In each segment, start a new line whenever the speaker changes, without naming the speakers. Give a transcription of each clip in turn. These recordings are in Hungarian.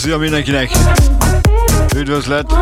Szia mindenkinek! Üdvözlet!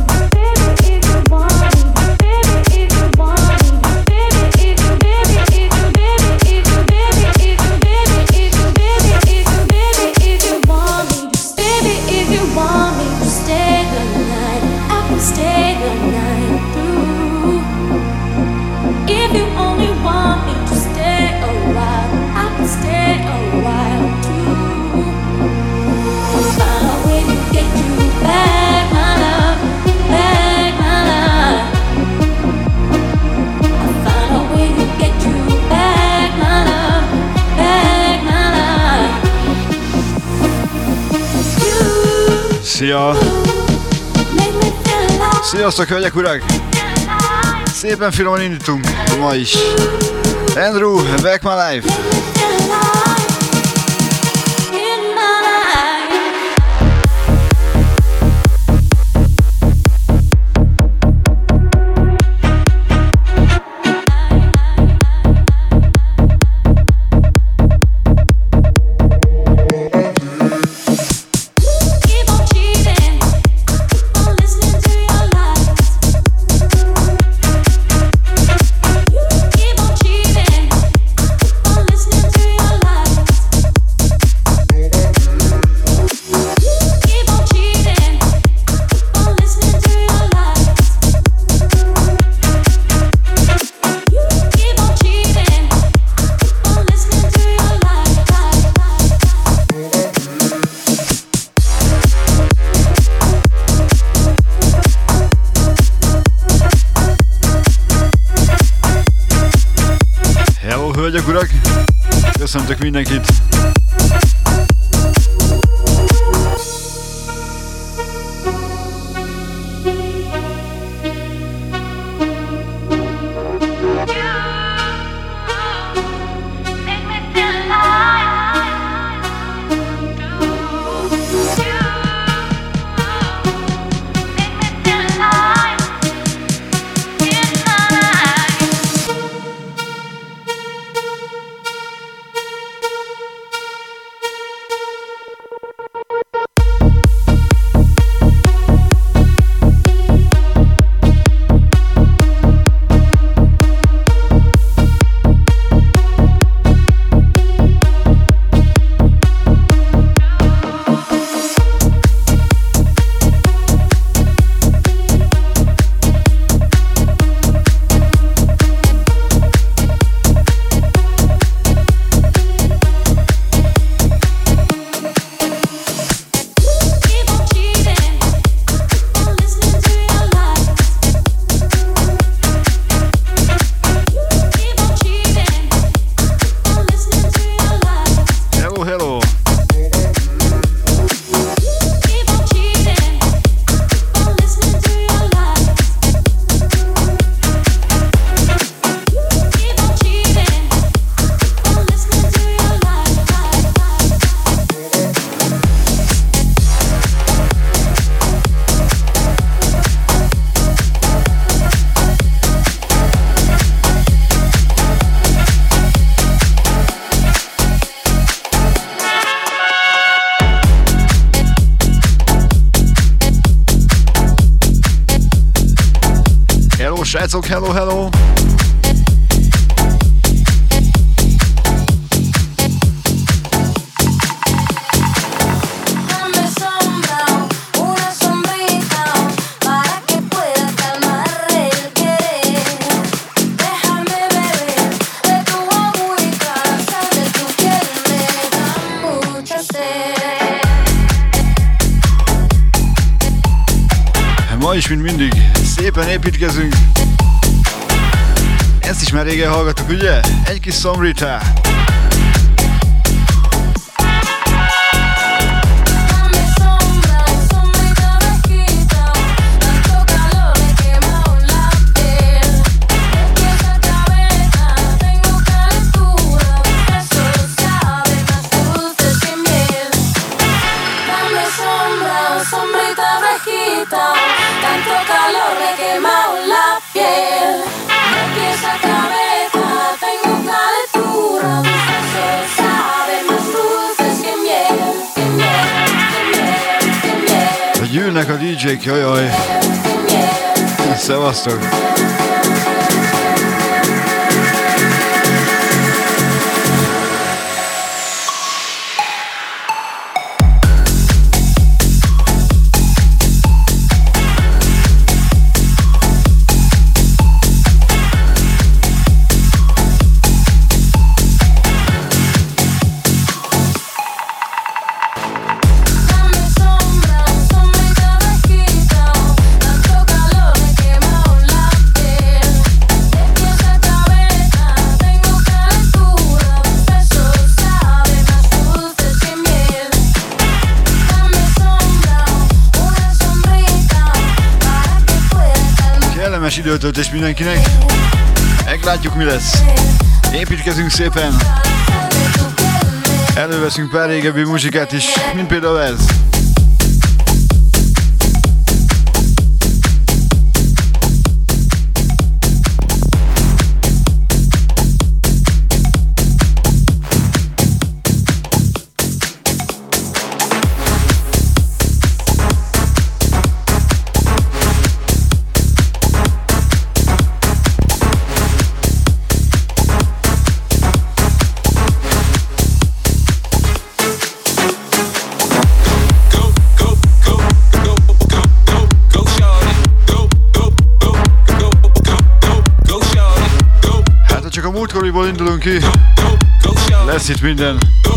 Szia! Sziasztok, hölgyek, urak! Szépen finoman indítunk ma is. Andrew, Back My Life! Hölgyek, urak! Köszöntök mindenkit! Srácok, hello, hello! Ma is, mint mindig, szépen építkezünk. Ezt is már régen hallgattuk, ugye? Egy kis Sombrita.
Tanto calor me quema la piel. De pies a cabeza tengo calentura.
a DJ-k, jajaj. Szevasztok. Időtöltés mindenkinek. Meglátjuk, mi lesz. Építkezünk szépen. Előveszünk pár régebbi muzsikát is, mint például ez. Múltkoriból indulunk ki, lesz itt minden.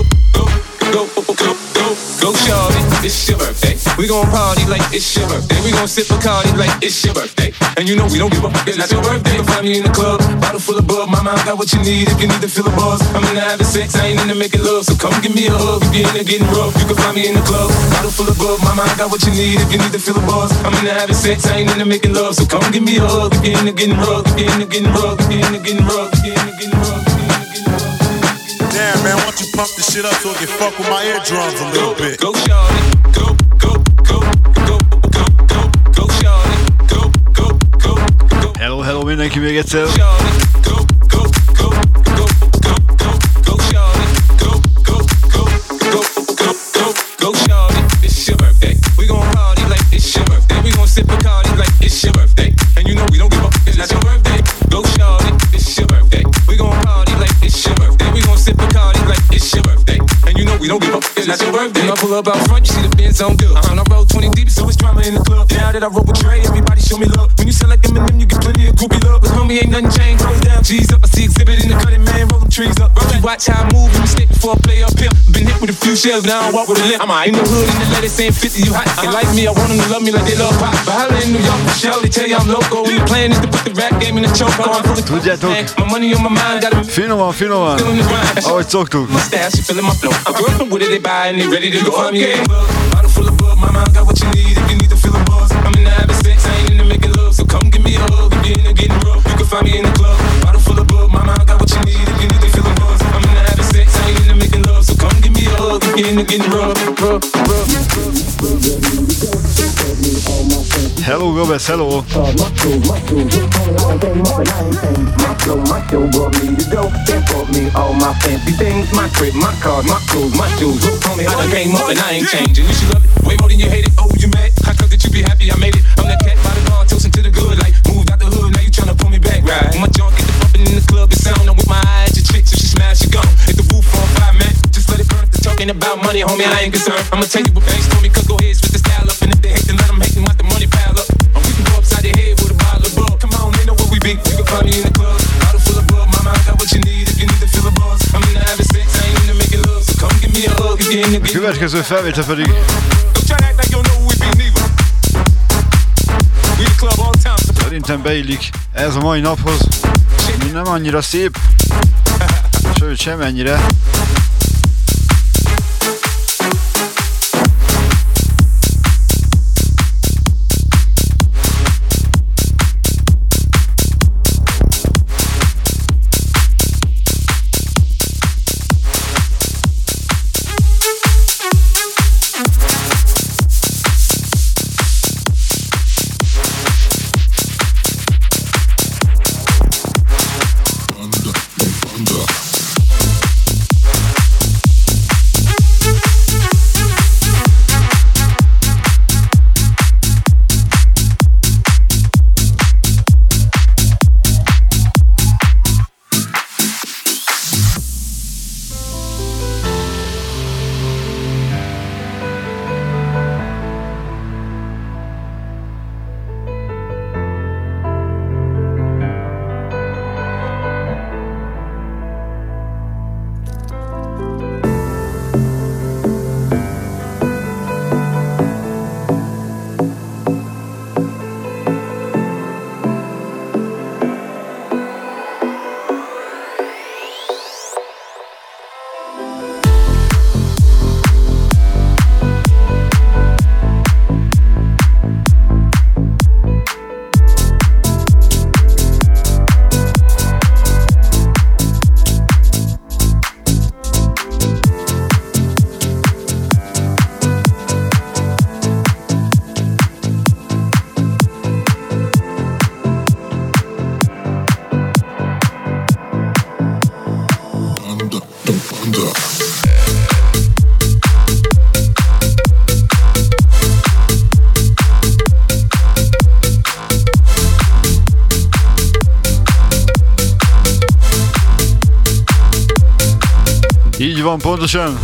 Go shawty, it's your birthday. We gon' party like it's your birthday. We gon' sip Bacardi like it's your birthday. And you know we don't give up, it's not your birthday. Find me in the club, bottle full of bub. Mama, I got what you need if you need to feel the buzz. I'm in the having sex, I ain't into making love. So come give me a hug if you're into getting rough. You can find me in the club, bottle full of bub. Mama, I got what you need if you need to feel the buzz. I'm in the having sex, I ain't into making love. So come give me a hug if you're into getting rough. If you're into getting rough, if you're into getting rough, if you're into getting rough. Damn, man, why don't you pump this shit up so it can fuck with my eardrums a little bit? Go, shawty, go, go, go, go, go, go, go, shawty, go, go, go, go.
Hello, hello mindenki még egyszer.
Go, go, go, go, go, go, go, shawty, go, go, go, go, go, go, go, shawty. It's your birthday. We gon' party like it's your birthday. We gon' sip Bacardi like it's your birthday. And you know we don't give up, it's not your birthday. Go, shawty, it's your birthday. We gon' party like it's your birthday. We gon' sip Bacardi like it's your birthday. And you know we don't give up, it's not your birthday. When I pull up out front, you see the Benz on dub. I roll 20 deep, so it's drama in the club. Now that I roll with Dre, everybody show me love. When you sell like Eminem, you get plenty of groupie love. But homie, ain't nothing changed. Roll down, G's up. I see exhibit in the cutting, man. Roll them trees up. You watch how I move and mistake before I play up here. Been hit with a few shells, now I walk with a limp. I'm in the hood, in the letter saying 50, you hot. They like me, I want them to love me like they love pop. But holla in New York, Michelle, they tell you I'm loco. And the plan is to put the rap game in the choke. I'm full of my money on my mind, got a
finoman, finoman. Ahogy szoktuk.
Mustache, you feeling my flow. I'm girlfriend with it, they buy and they ready to go for me. Bottle full of bub, my mind got what you need if you need to feel the buzz. I'm in the having sex, I ain't into making love. So come give me a hug if you're into getting rough. You can find me in the club. Bottle full of bub, my mind got what you need if you need to feel the buzz. I'm in the having sex, I ain't into making love. So come give me a hug if you're into getting rough.
Hello, Gobes, hello.
All my fancy things, my crib, my car, my clothes, my shoes. Look on me, I done came up and I ain't changing. You should love it way more than you hate it. Oh, you mad? I thought that you be happy I made it. I'm that cat by the bar, toasting to the good. Like, moved out the hood, now you tryna pull me back, right? When my junk get the bumping in the club, it sound. I'm with my eyes, your chick, so she smash, she gone. Hit the roof on fire, man. Just let it burn. The talk ain't about money, homie, I ain't concerned. I'ma tell you what banks told me, cause go ahead, switch the style up. And if they hate, then let them hate, then let the money pile up. Or we can go upside their head with a bottle of bug. Come on, they know where we be. You can find me in the club. Bottle full of bug, my mind got what you need if you need to feel the buzz. I'm in the having sex, I ain't into making love. So come give me a hug if you're into getting love.
Következő felvétel pedig szerintem beillik ez a mai naphoz. Nem annyira szép, sőt semennyire. Így van, pontosan.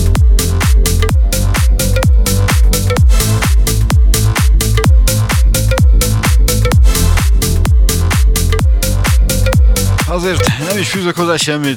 Azért nem is fűzök hozzá semmit.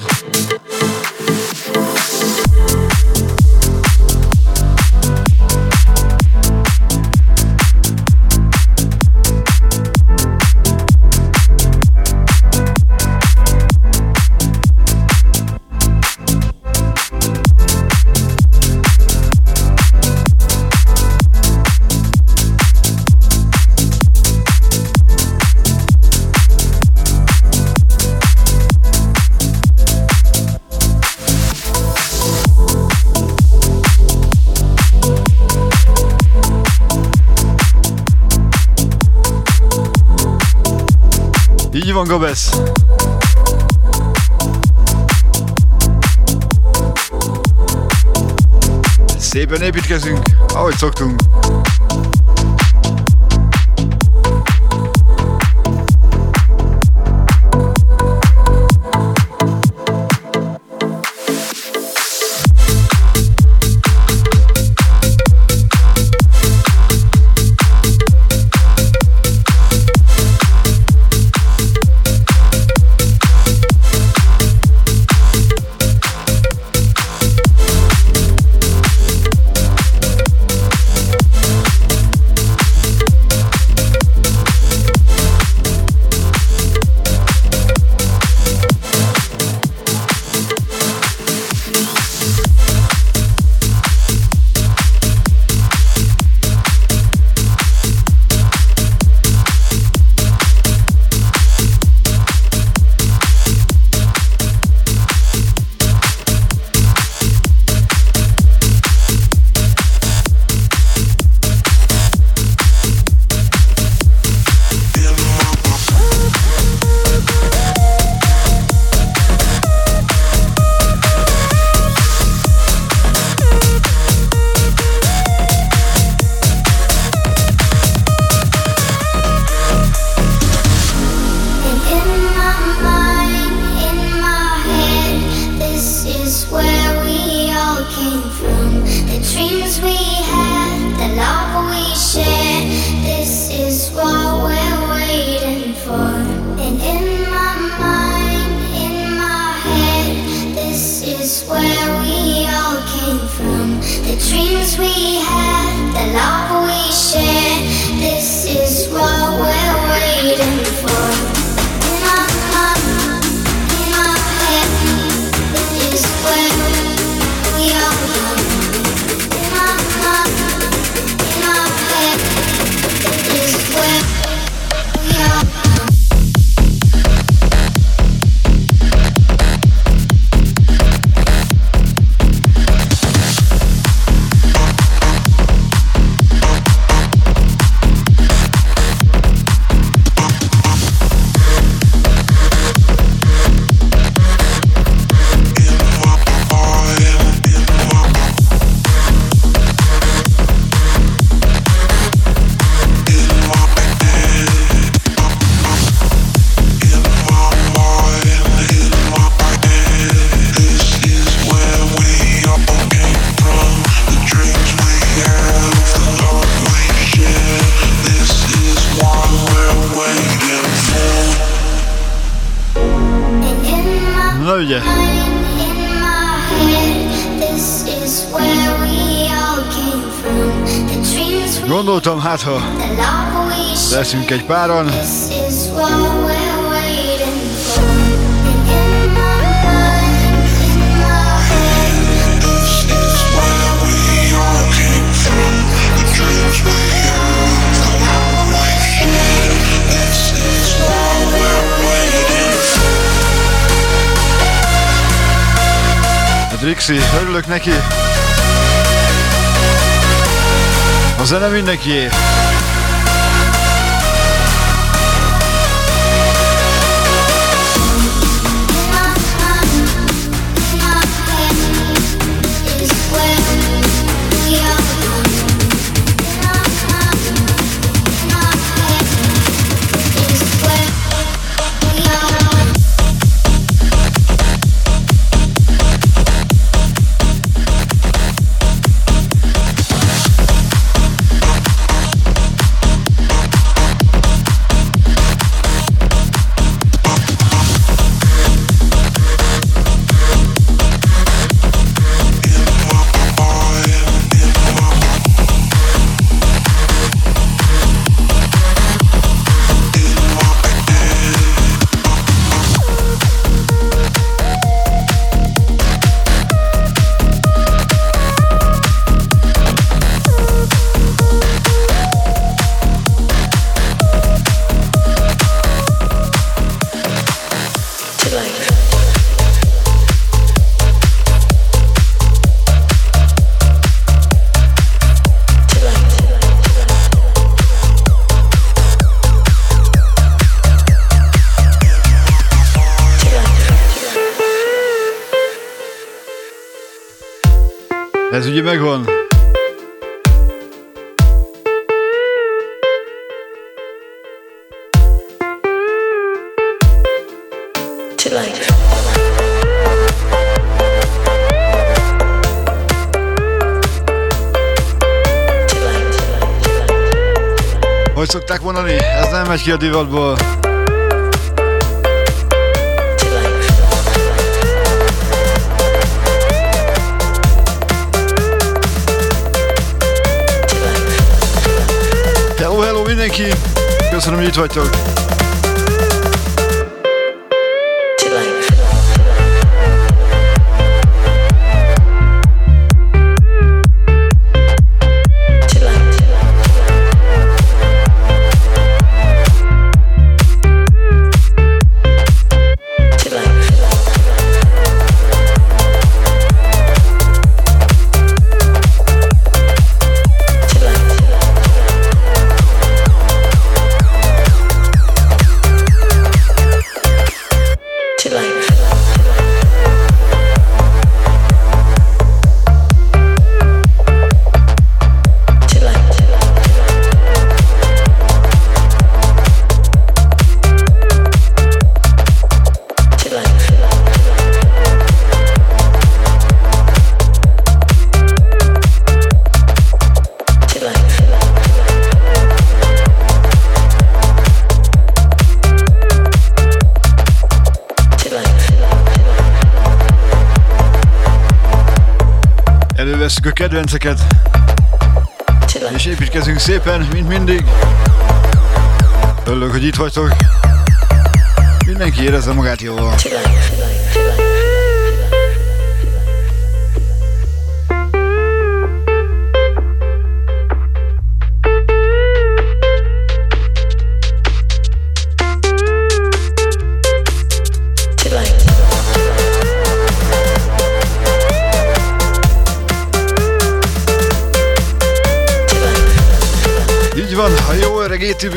Így van, Gabesz. Szépen építkezünk, ahogy szoktunk. Gondoltam, hát ha leszünk egy páran. Rixi, örülök neki. A zene mindenkié. Ez ugye megvan. Hogy szokták mondani? Ez nem megy ki a divatból. Hello mindenki! Köszönöm, hogy itt vagytok! Elővesszük a kedvenceket, és építkezünk szépen, mint mindig. Örülök, hogy itt vagytok. Mindenki érezze magát jól. Így van, a jó öreg ATV.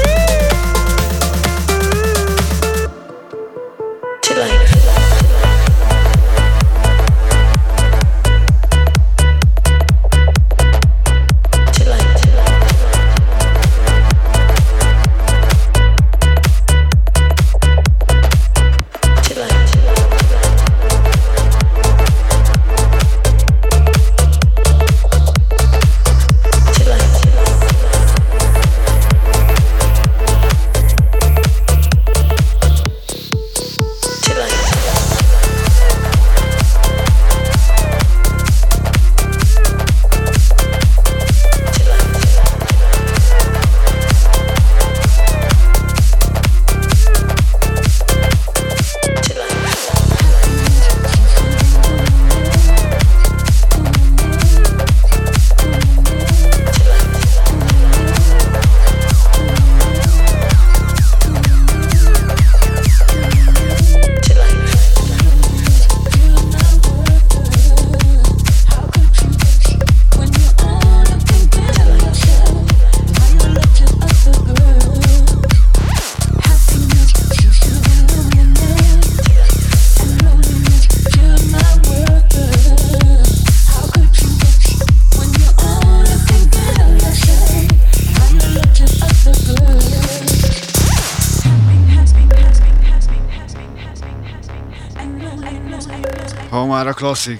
Ha már a klasszik.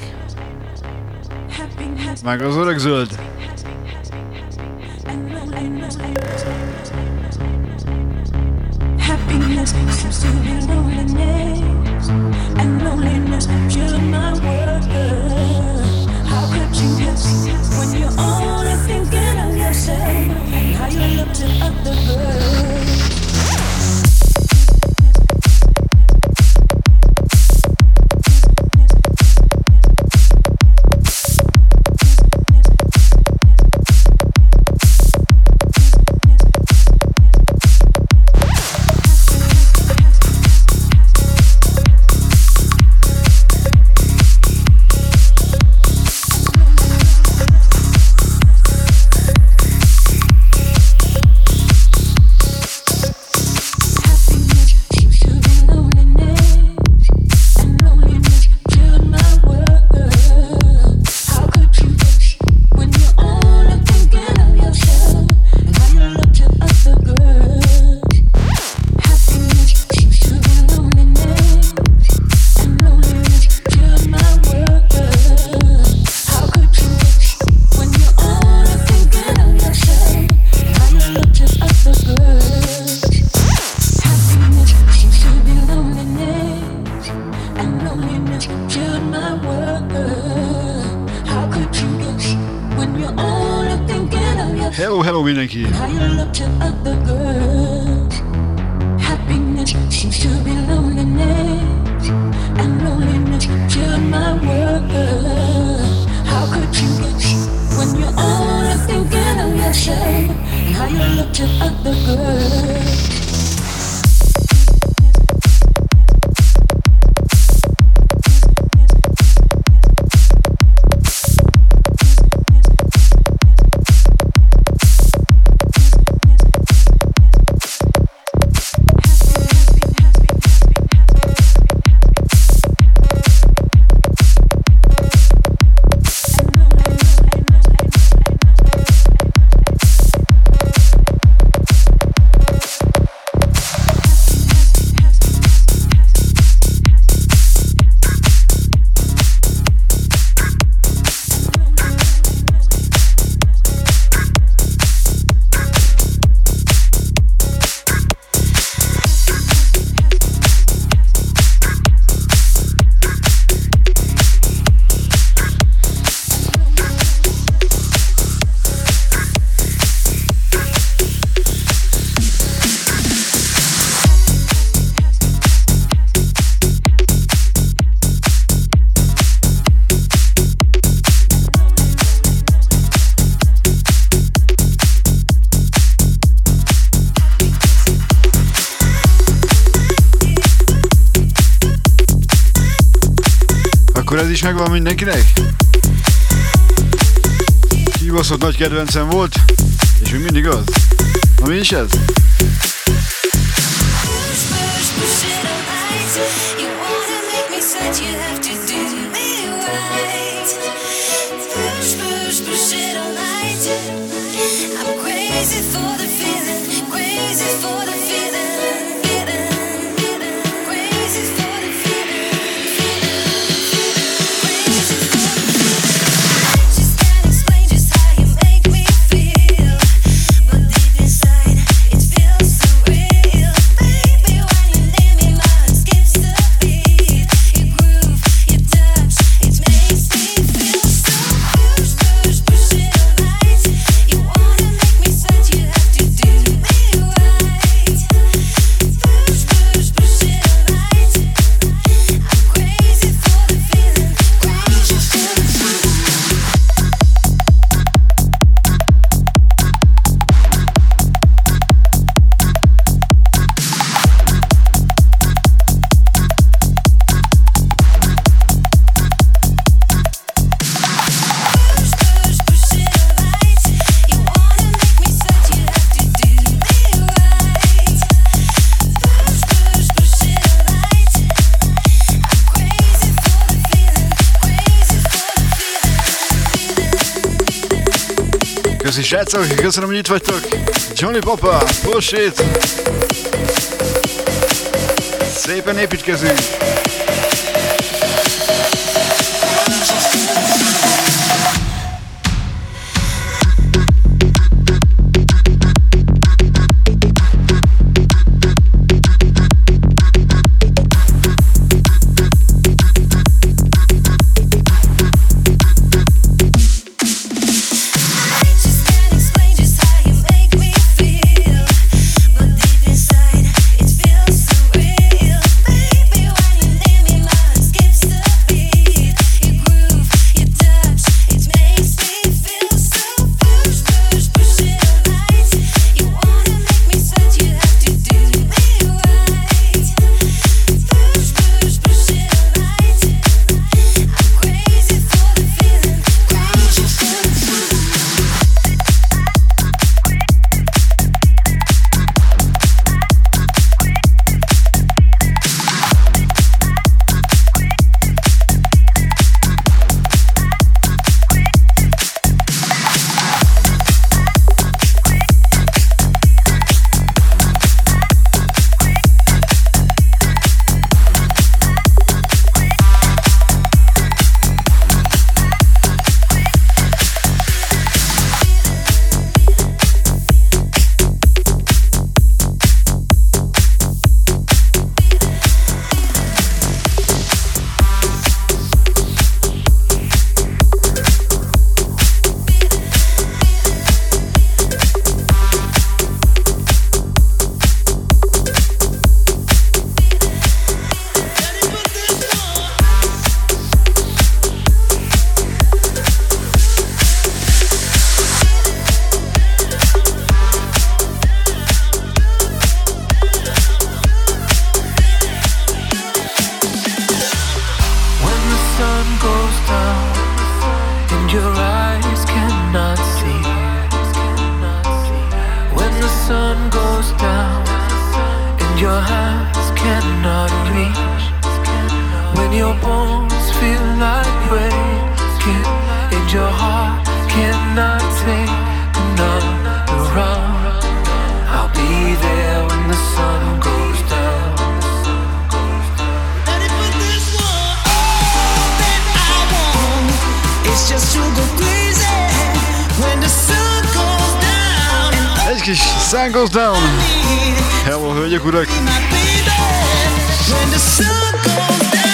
Meg az öreg zöld. mindenki!
When you're only thinking of yourself and how you look to other girls.
Ez is megvan mindenkinek? Kibaszott nagy kedvencem volt, és még mindig az. Na mi is ez? Köszi srácok, köszönöm, hogy itt vagytok. Johnny Papa, push it! Szépen építkezünk!
Inside, it feels so real, baby. When you
your hands cannot reach, when your bones feel like breaking, and your heart cannot take another round. I'll be there when the sun goes down.
Ready for this one? All that I want is just to go crazy when the sun goes down.
Egy kis Sun Goes Down. Hello, hölgyek, urak!
My baby, when the sun goes down.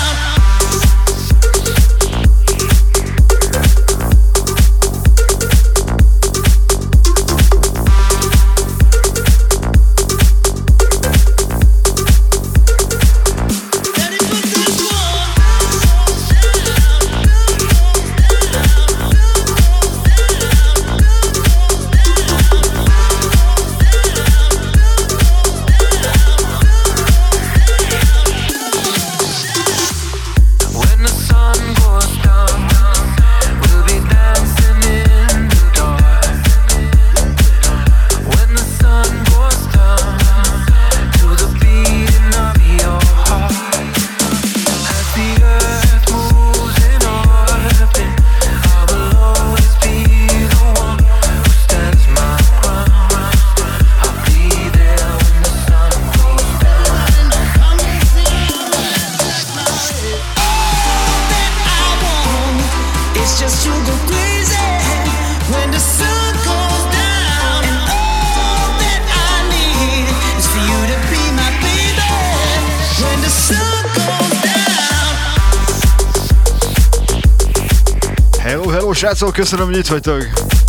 Srácok, köszönöm, hogy itt vagytok!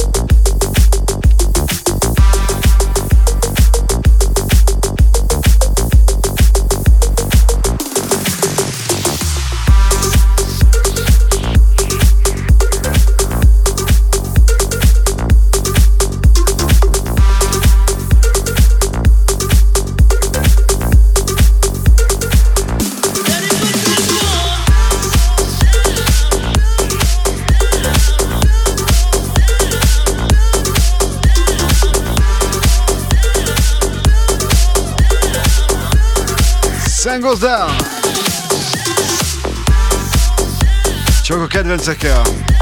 Sun Goes Down! Csak a kedvencekkel!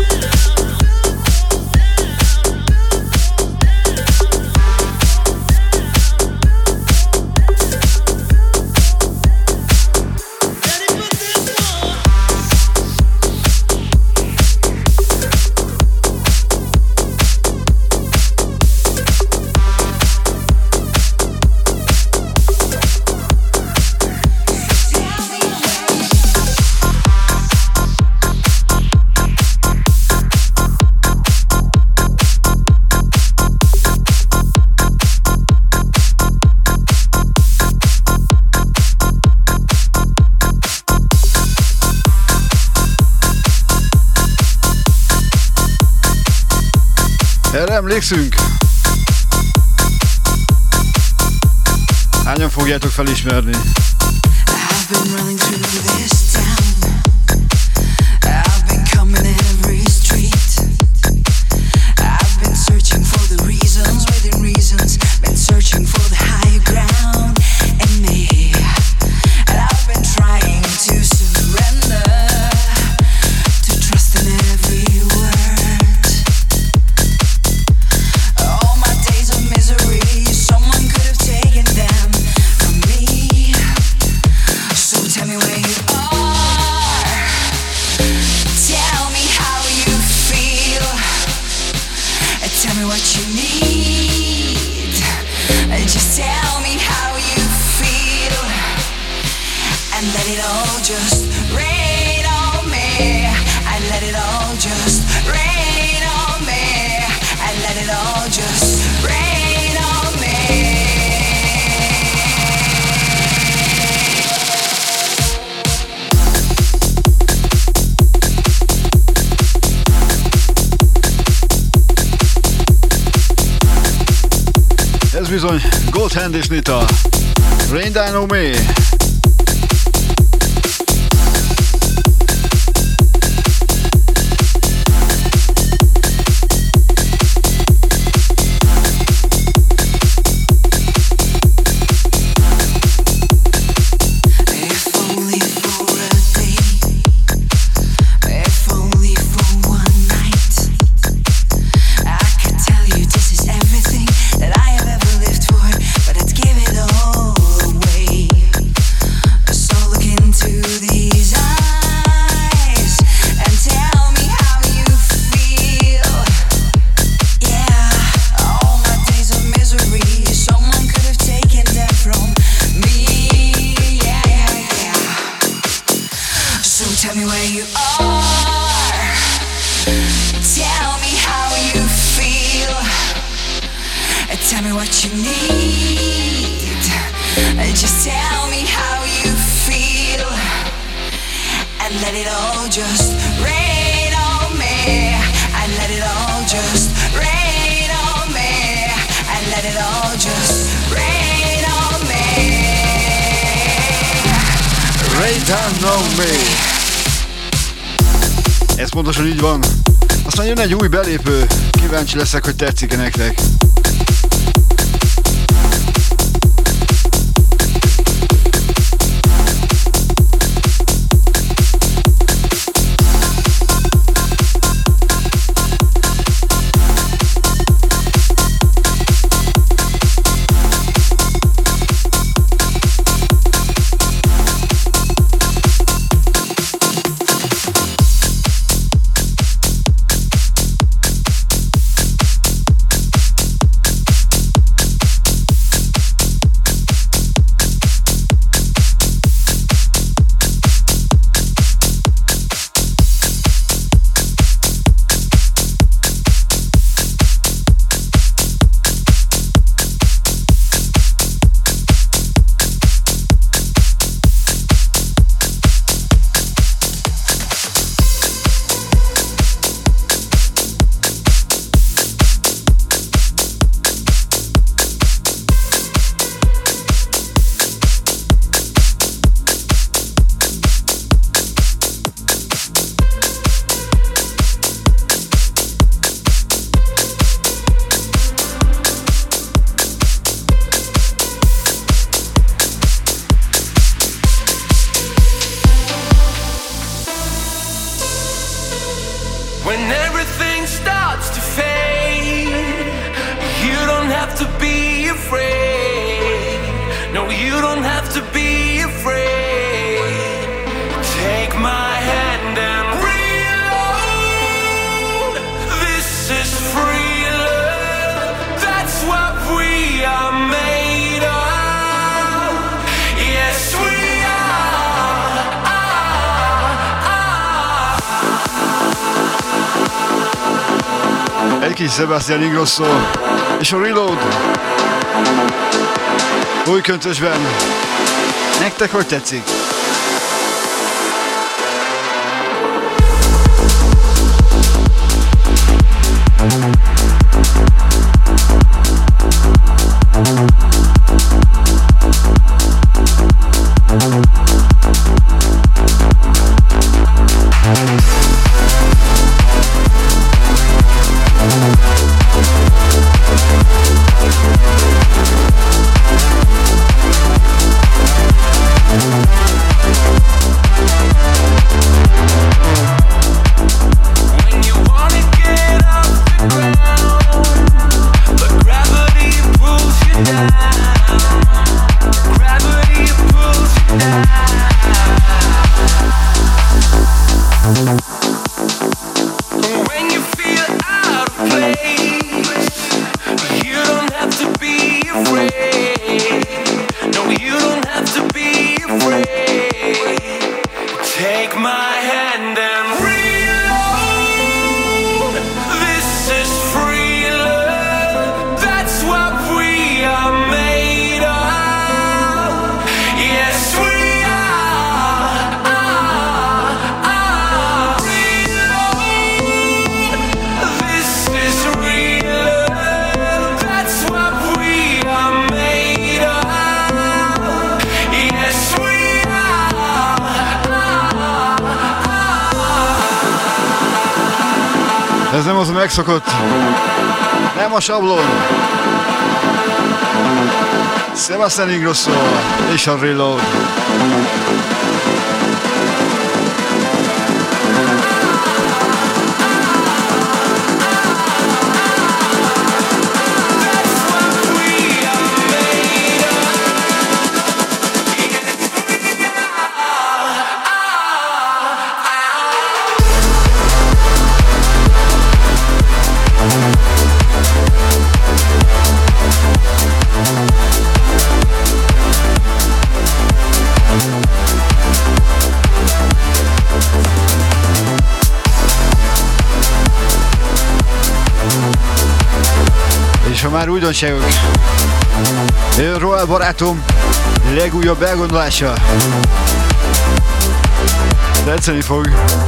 Erre emlékszünk? Hányan fogjátok felismerni? Ez bizony Goldhand és Nita. Rain Down on Me.
you need. Just tell me how you feel, and let it all just rain on me. And let it all just rain on me. And let it all just rain on me.
Rain down on me. Ez pontosan így van. Aztán jön egy új belépő. Kíváncsi leszek, hogy tetszik-e nektek. Egy kis Sebastian Ingrosso és a Reload új köntösben. Nektek hogy tetszik? Ez nem az a megszokott, nem a sablon. Sebastian Ingrosso és a Reload. És ha már újdonságok, Roel barátom legújabb elgondolása. Tetszeni fog.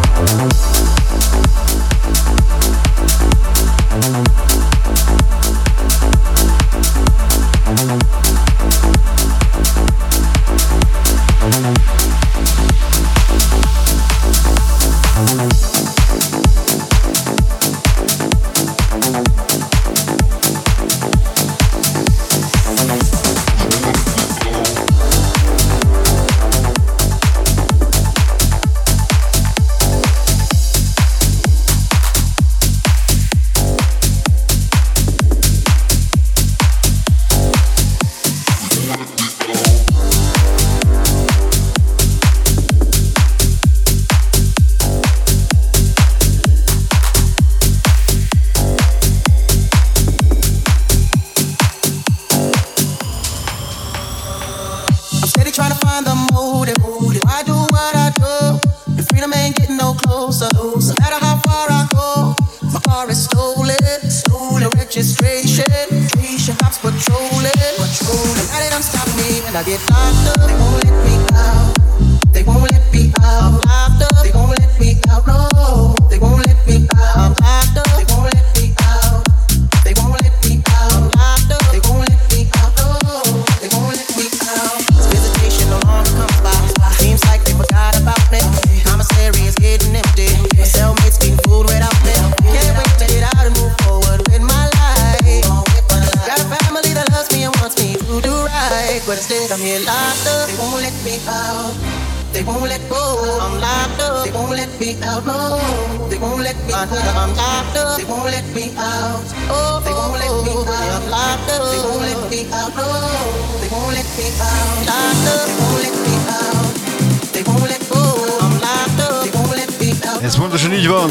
Ez pontosan így van.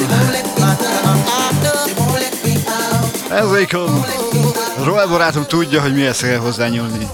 Ez Roel barátom tudja, hogy mihez kell hozzányúlni.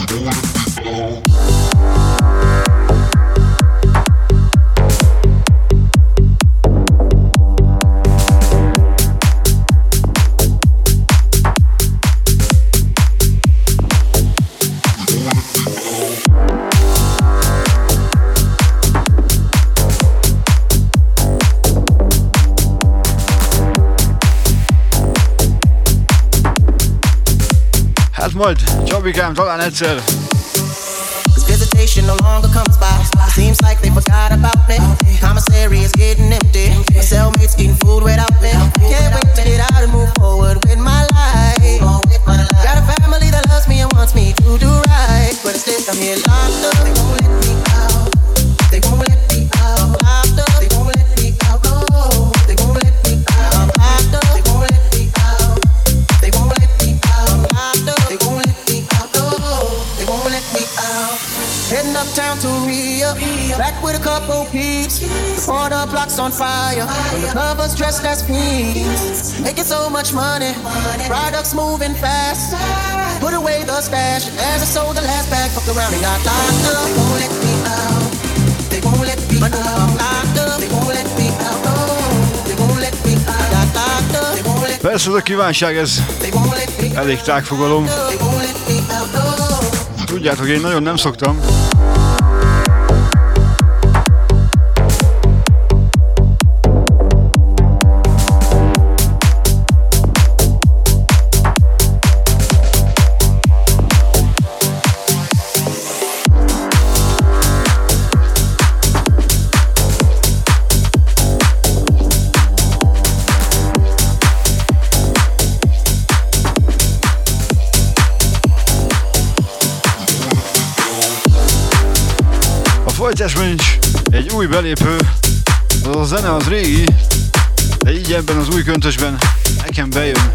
Majd, Csabikám, talán egyszer. Visitation no longer comes by. Seems like they forgot about me. Commissary is getting empty. My cellmates eating food without me. Can't wait to get out and move forward with my life. Got a family that loves me and wants me to do right. But instead I'm here locked up. They won't let me out. They won't let me out. Locked up. They won't let me out. No. They won't let me out. I'm locked up. They won't let me out. They won't let me out. I'm locked up. They won't let me out. No. They won't let me out. Heading uptown to Rio, back with a couple peeps. The corner block's on fire, when the lovers dressed as fiends. Making so much money, products moving fast. Put away the stash, as I sold the last bag, fucked around and got locked up. They won't let me out, they won't let me out. I'm locked up, they won't let me out, no. They won't let me out, got locked up. They won't let me out. Persze, ez a kívánság, ez elég tágfogalom. Tudjátok, én nagyon nem szoktam. Folytásban is egy új belépő, az a zene az régi, de így ebben az új köntösben nekem bejön.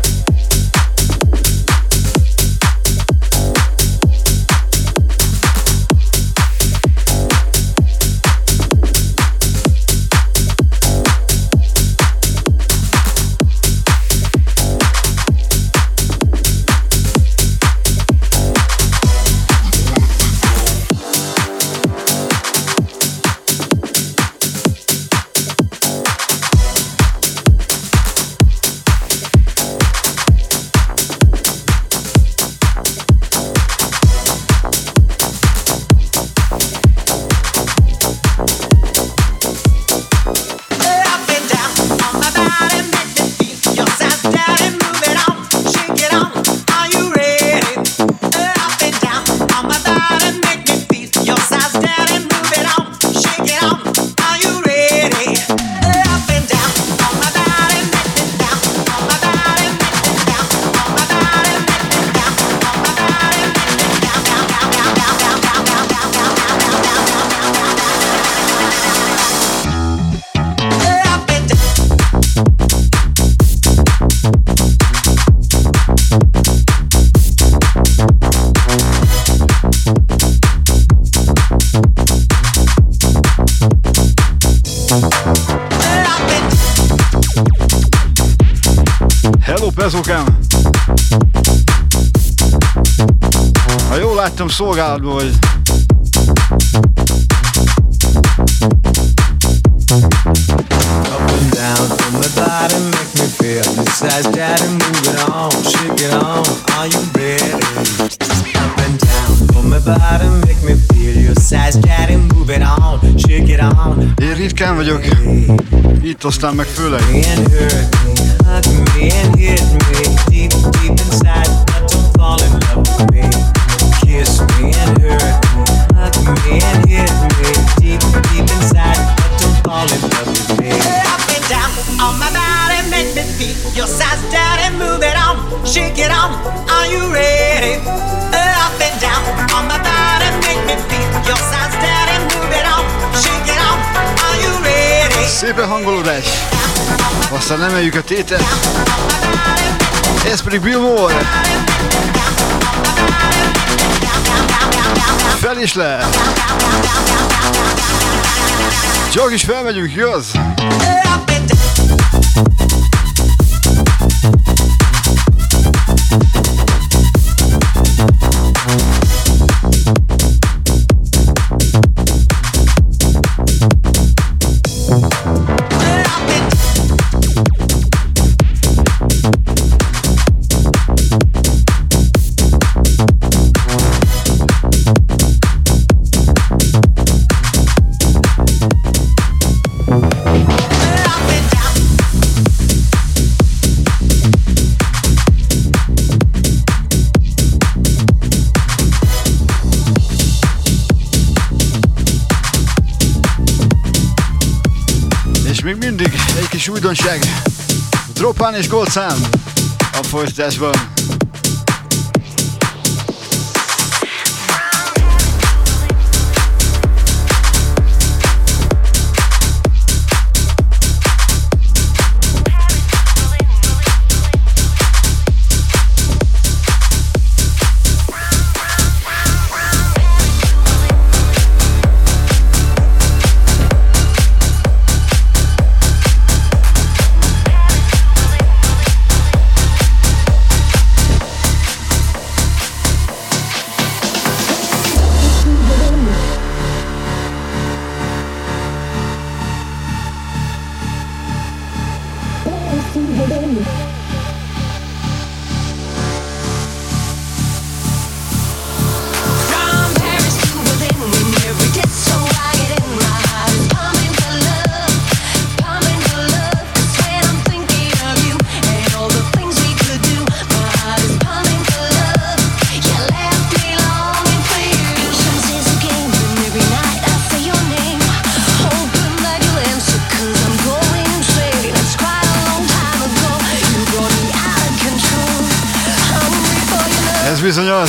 Lemezókám. Ha jól láttam, szolgálatban vagy.
Up and down from my body, make me feel this size, daddy, move it on, shake it on, are you ready? Up and down from my body, make me feel your size, daddy, move it on, shake it on.
Én ritkán vagyok, itt aztán meg főleg.
And hurt me, hug me and hit me, deep, deep inside, but don't fall in love with me. Kiss me and hurt me, hug me and hit me, deep, deep inside, but don't fall in love with me.
Up and down on my body, make me feel your size, daddy, move it on, shake it on, are you ready? Up and down on my body, make me feel your size, daddy, move it on, shake it on, are you ready?
Szépen hangolódás. Aztán emeljük a tétet. Ez pedig Bill Moore. Fel is le. Csak is felmegyünk, igaz? Még mindig egy kis újdonság. Dropán és Gold szám a folytatásban. Bizony az.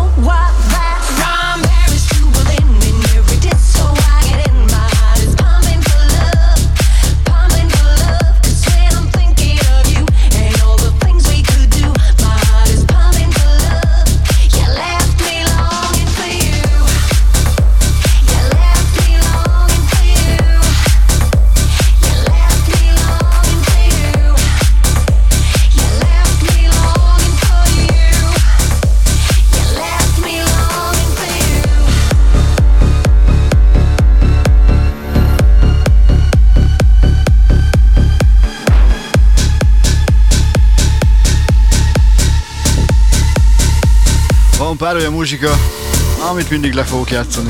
Van pár olyan muzsika, amit mindig le fogok játszani.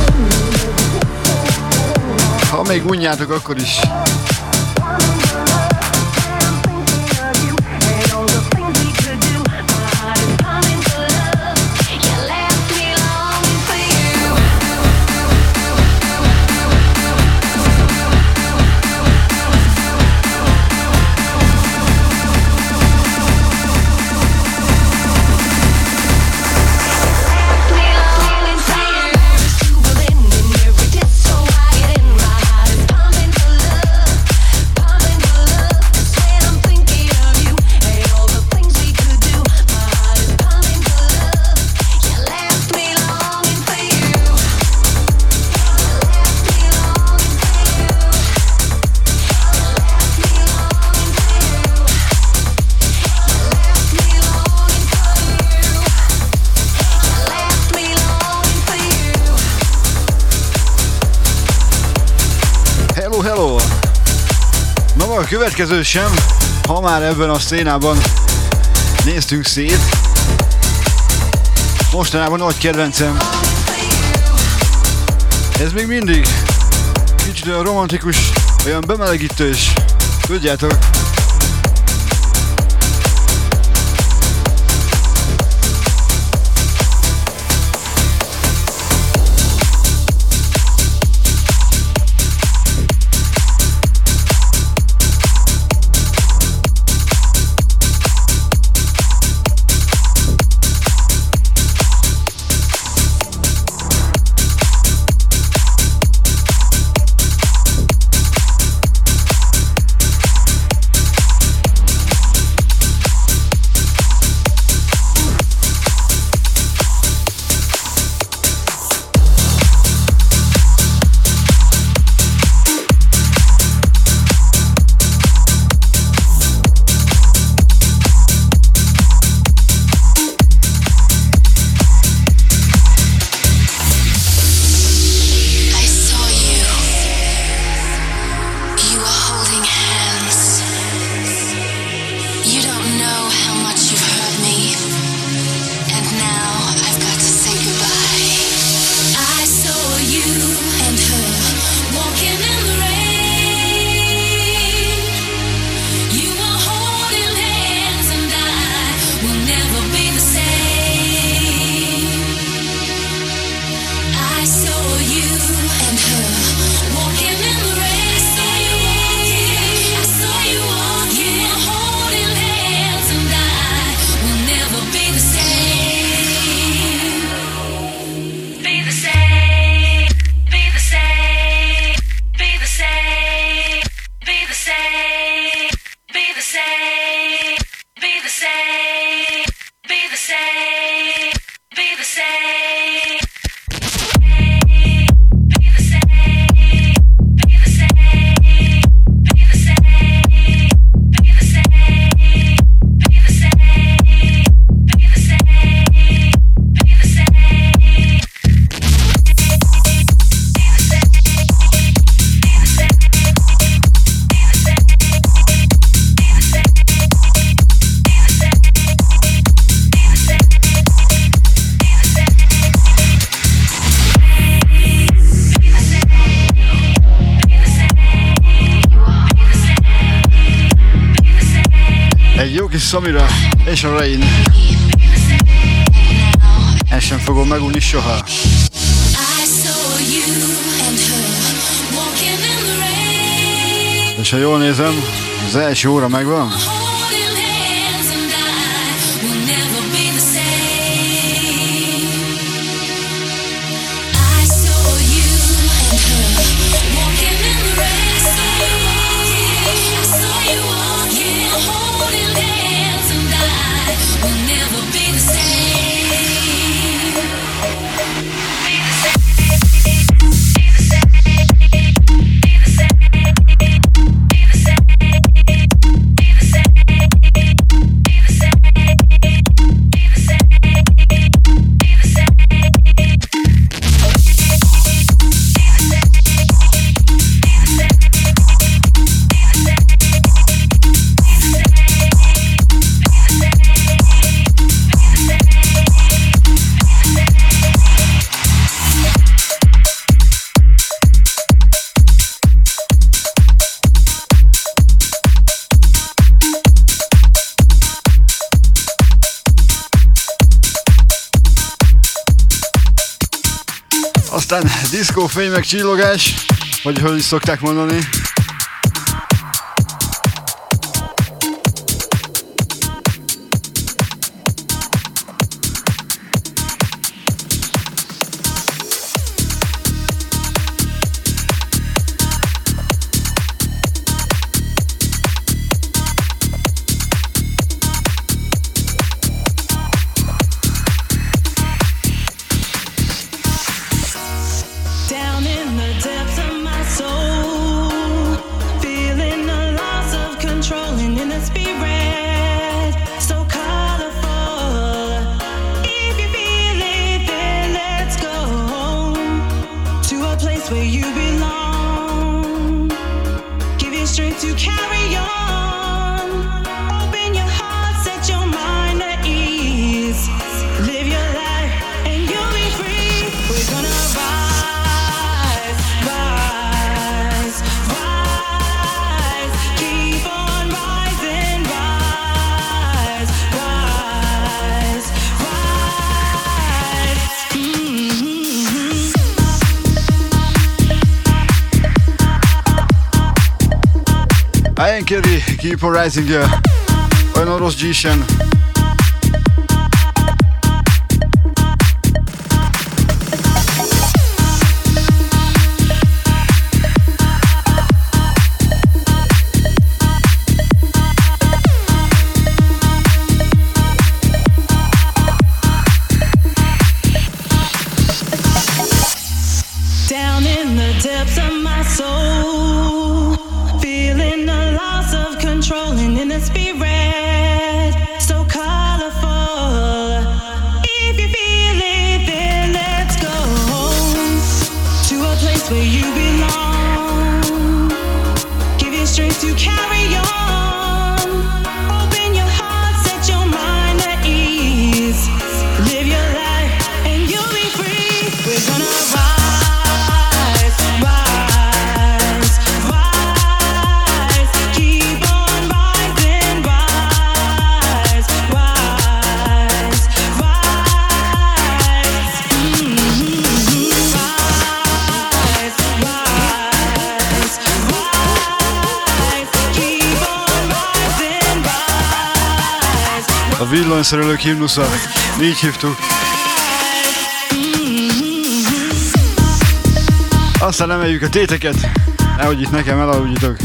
Ha még unjátok, akkor is. Hello, hello! Na a következő sem, ha már ebben a szénában néztünk szét. Mostanában nagy kedvencem. Ez még mindig kicsit olyan romantikus, olyan bemelegítős. Tudjátok? Samira és a Rain. Ezt sem fogom megunni soha. És ha jól nézem, az első óra megvan. Aztán diszkófény meg csillogás, vagy hogy is szokták mondani.
Where you belong. strength to carry on. Open your heart, set your mind at ease. Live your life and you'll be free. We're gonna rise, rise, rise. Keep on rising, rise, rise, rise.
A jen kedy Keep on Rising olyan rossz G-sen.
Down in the depths of my soul, feeling the loss of control and in the spirit, so colorful. If you feel it, then let's go to a place where you belong. Give you strength to carry on. Open your heart, set your mind at ease. Live your life and you'll be free. We're gonna rise.
A villanyszerelők himnusza, így hívtuk. Aztán emeljük a téteket, nehogy itt nekem elaludjitok.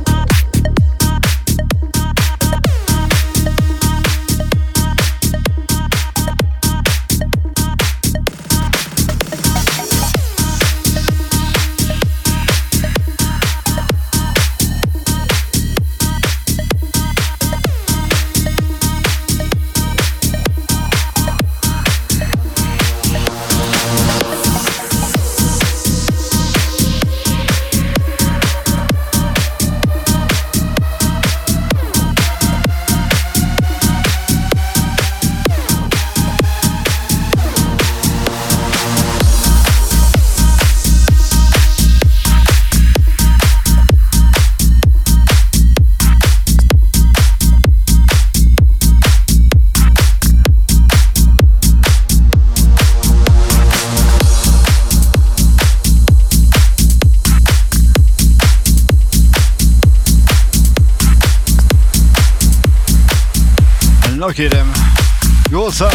Na kérem, jól szám!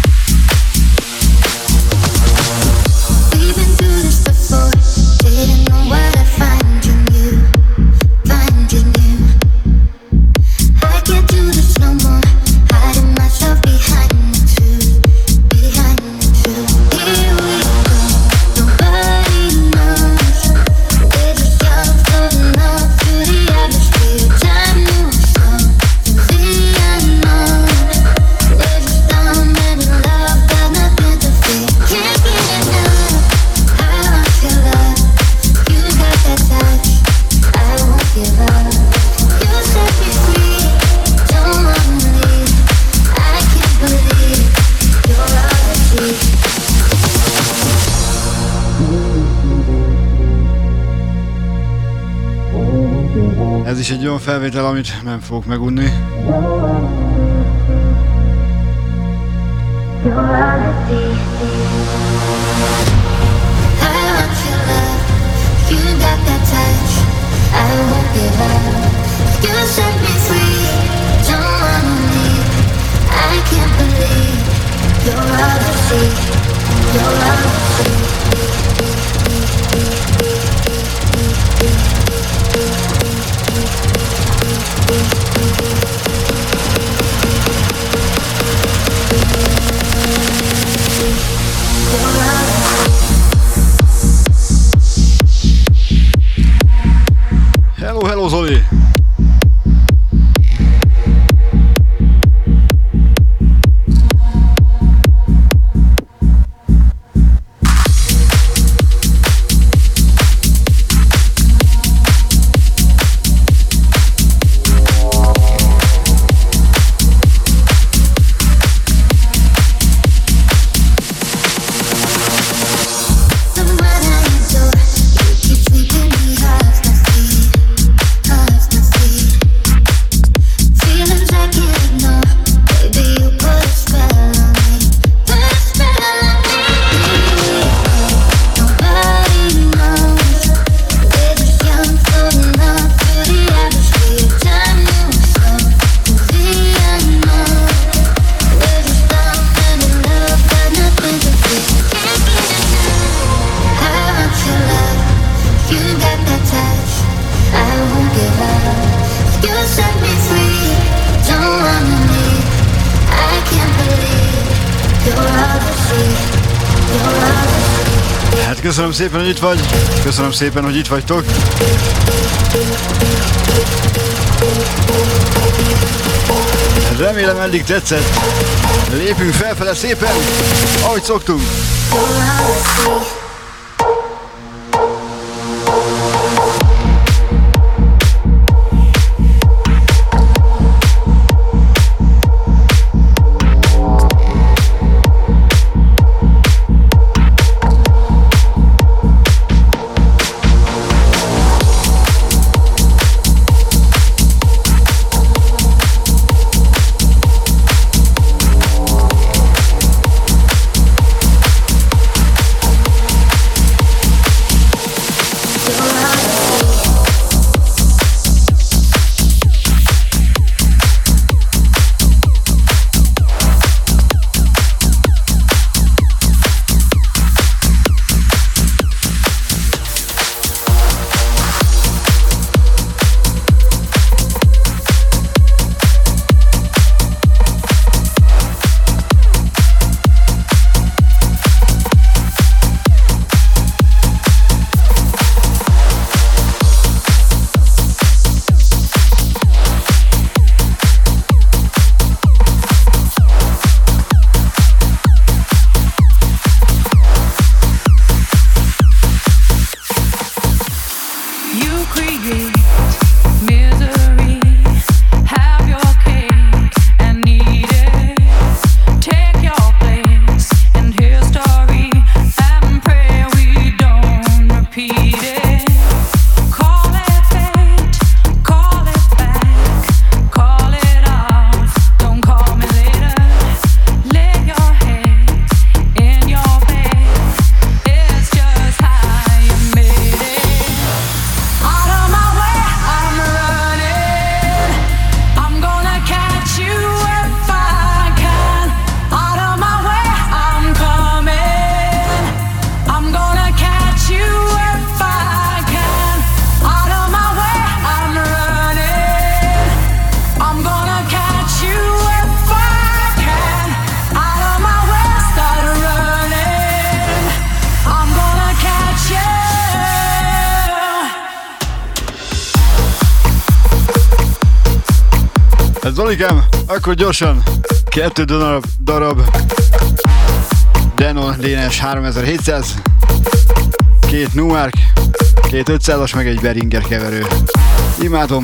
Ez is egy olyan felvétel, amit nem fogok megunni. Hello Zoli! köszönöm szépen, hogy itt vagy. Köszönöm szépen, hogy itt vagytok. Remélem eddig tetszett. Lépünk felfele szépen, ahogy szoktunk. Zolikám, akkor gyorsan 2 darab Denon Dénes 3700, 2 Numark, 2 500-as, meg egy Behringer keverő. Imádom!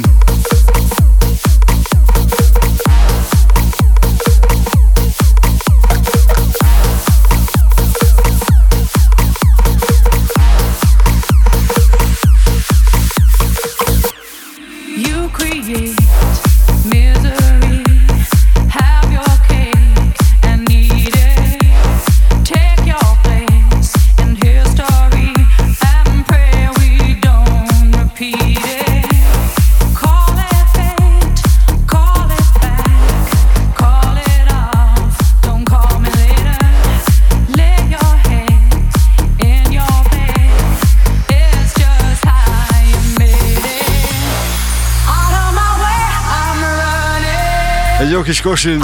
Egy jó kis kosin.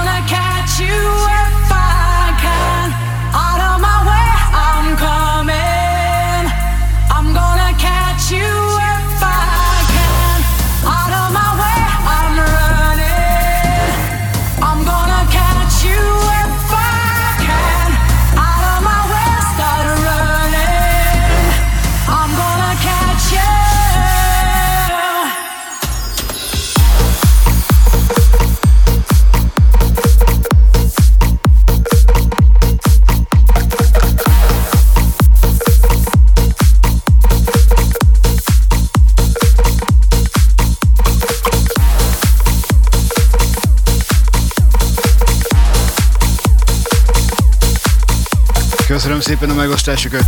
Köszönöm szépen a megosztásokat!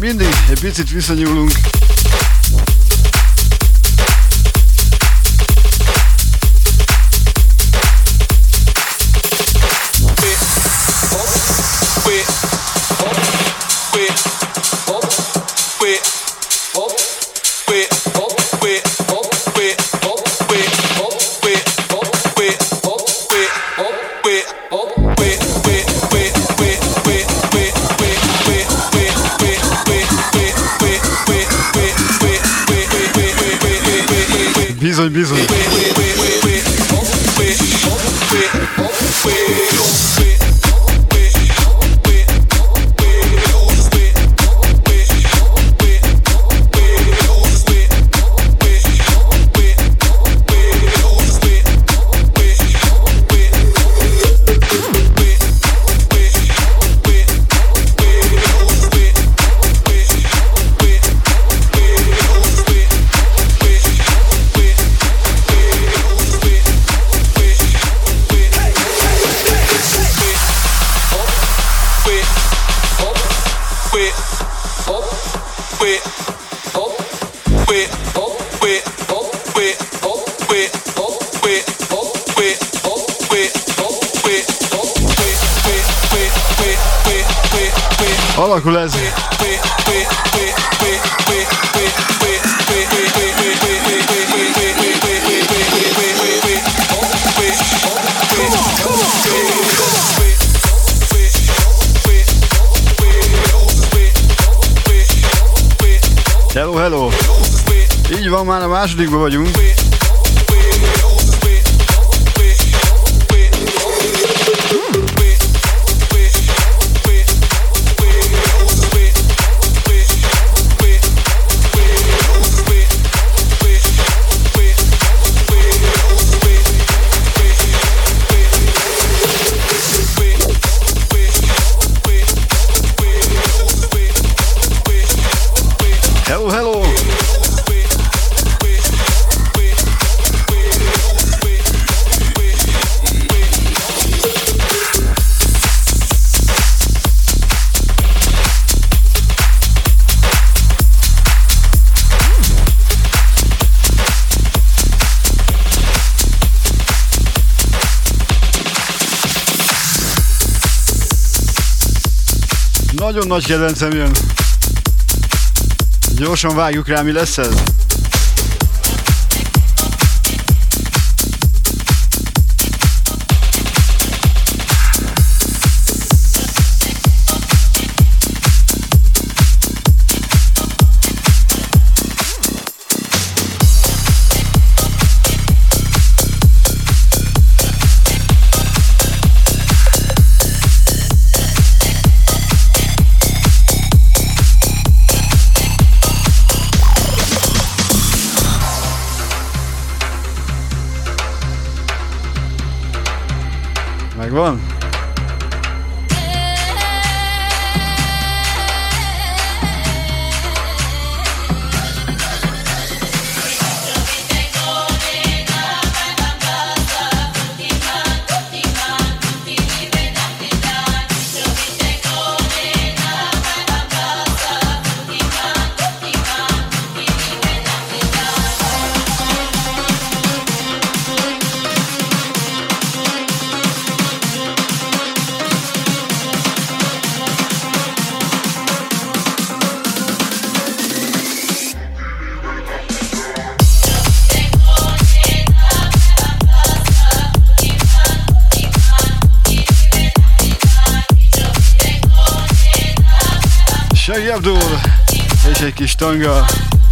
mindig egy picit visszanyúlunk. Bizony, bizony. Alakul ez. Hello, hello. Így van, már a másodikban vagyunk. Hello, hello! Nagyon nagy kedvencem jön. Gyorsan vágjuk rá, mi lesz ez? Megvan? Shaggy Abdul és egy kis tanga.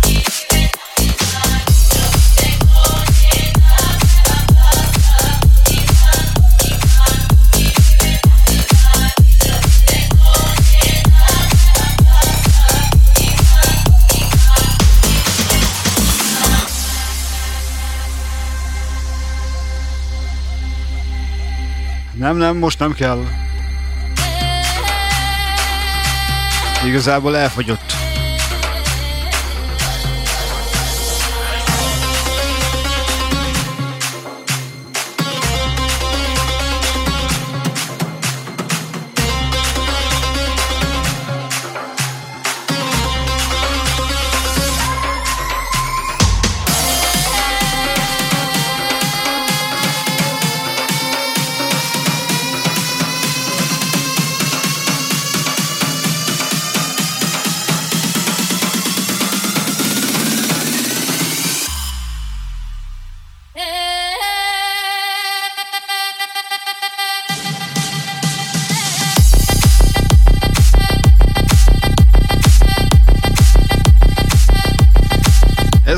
Nem, most nem kell. Igazából elfogyott.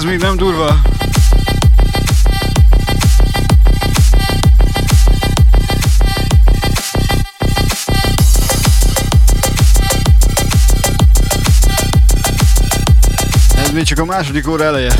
Ez még nem durva. Ez még csak a második óra eleje.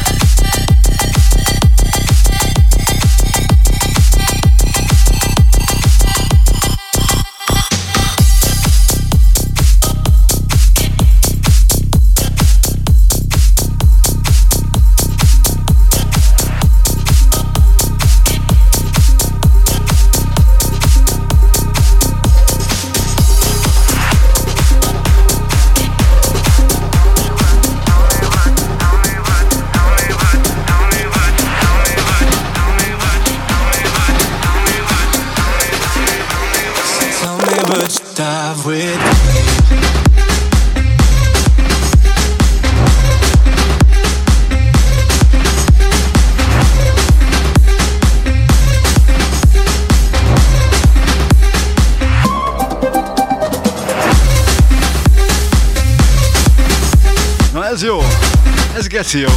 Ez jó, ez geci jó.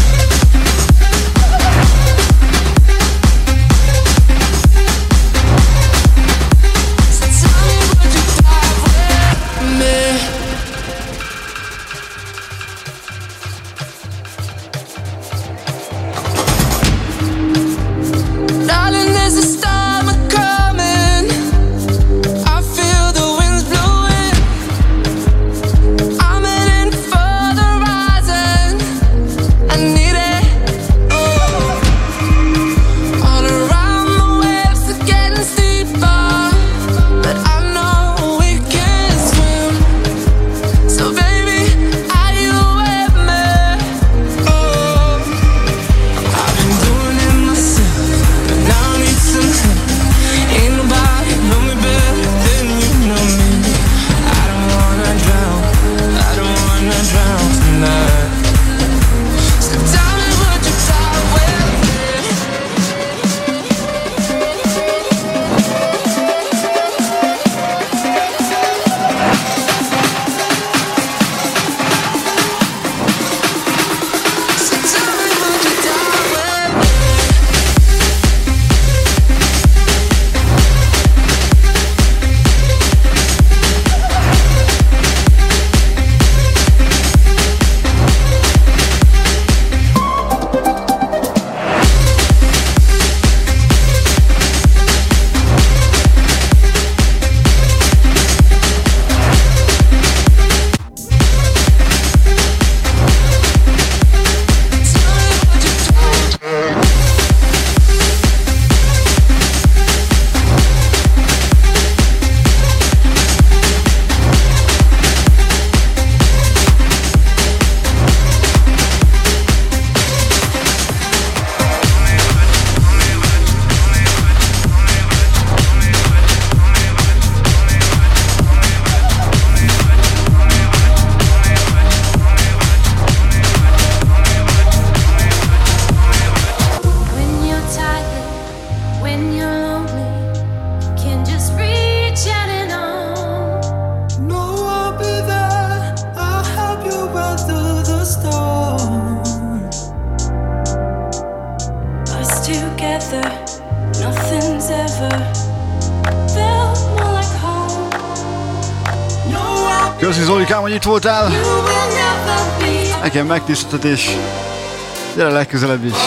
Köszi Zolikám, hogy itt voltál. Nekem megtiszteltetés. Gyere legközelebb is.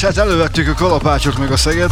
hát elővettük a kalapácsot meg a szeget.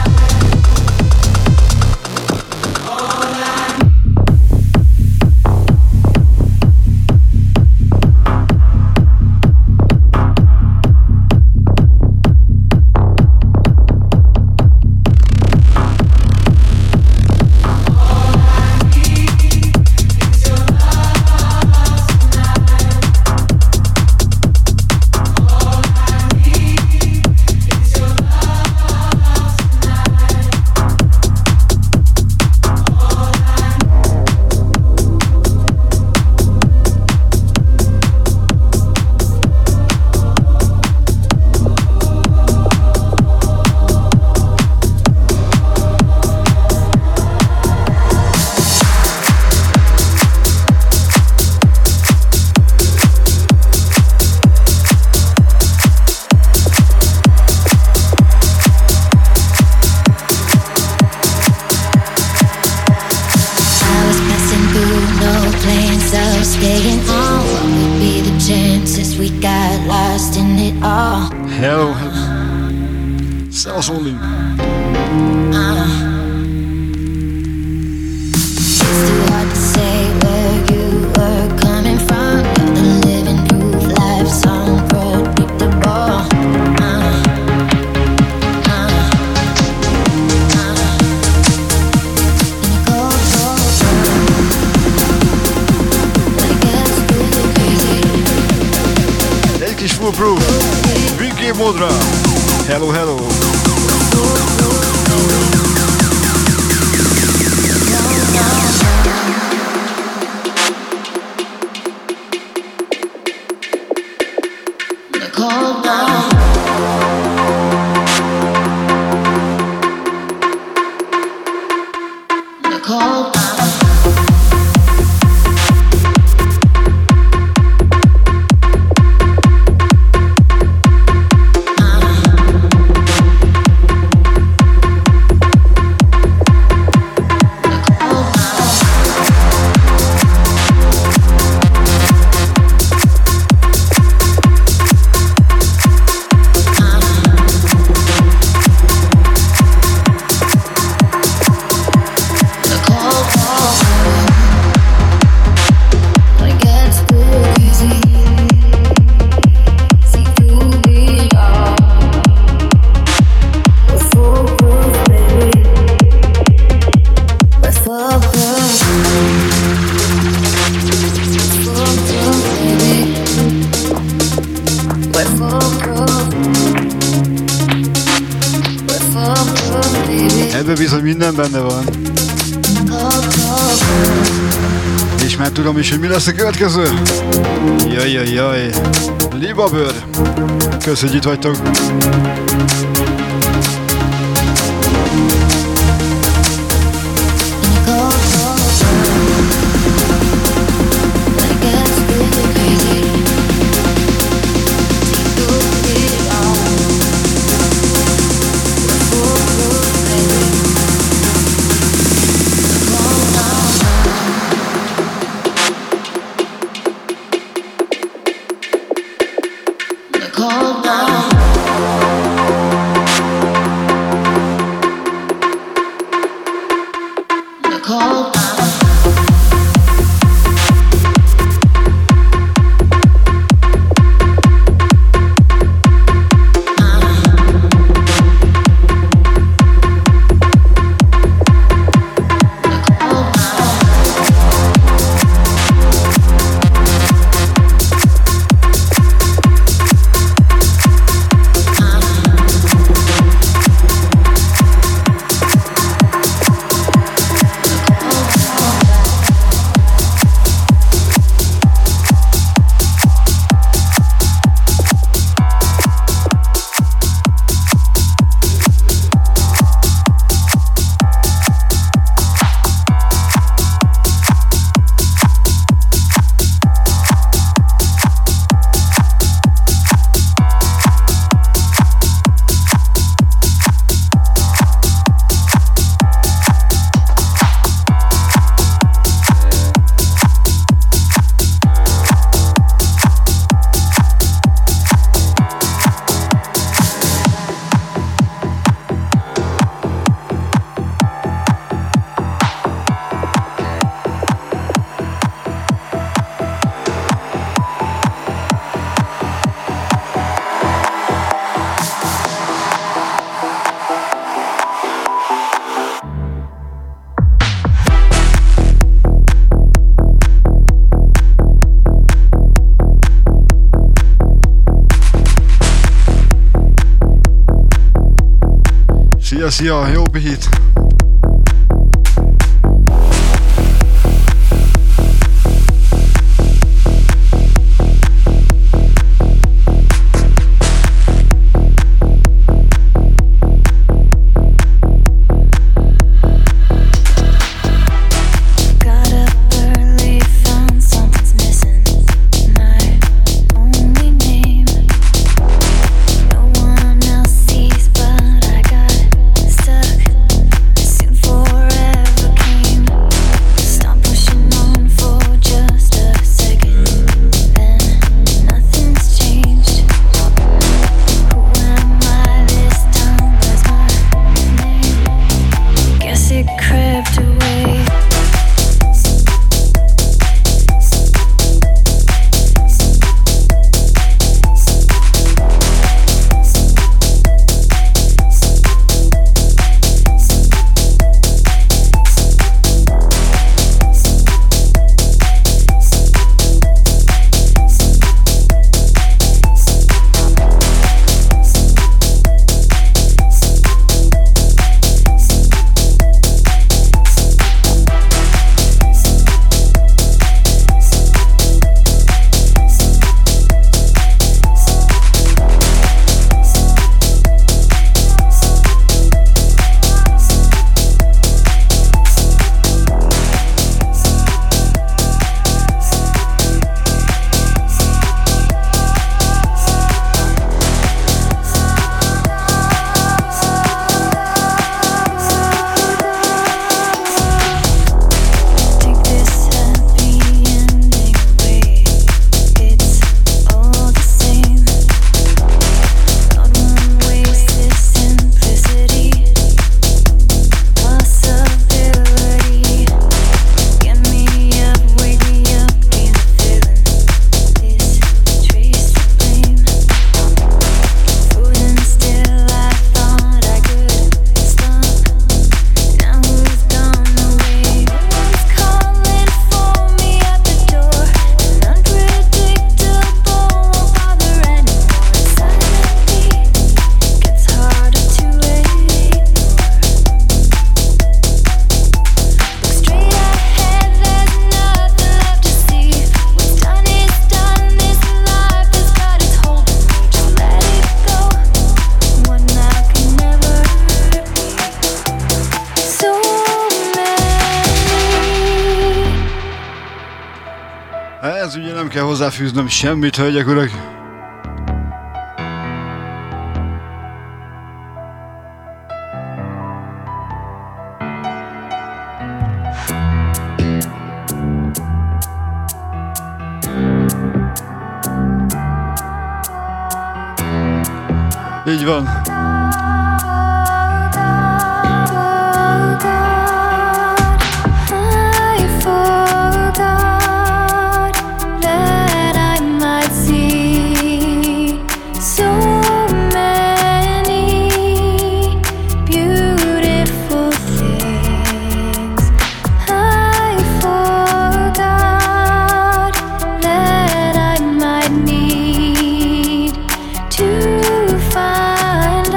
Benne van. És már tudom is, hogy mi lesz a következő. Jaj. Libabőr. Kösz, hogy itt vagytok. Szia, jó pihit! Ez ugye nem kell hozzáfűznöm semmit, hölgyek, urak. Így van.
Find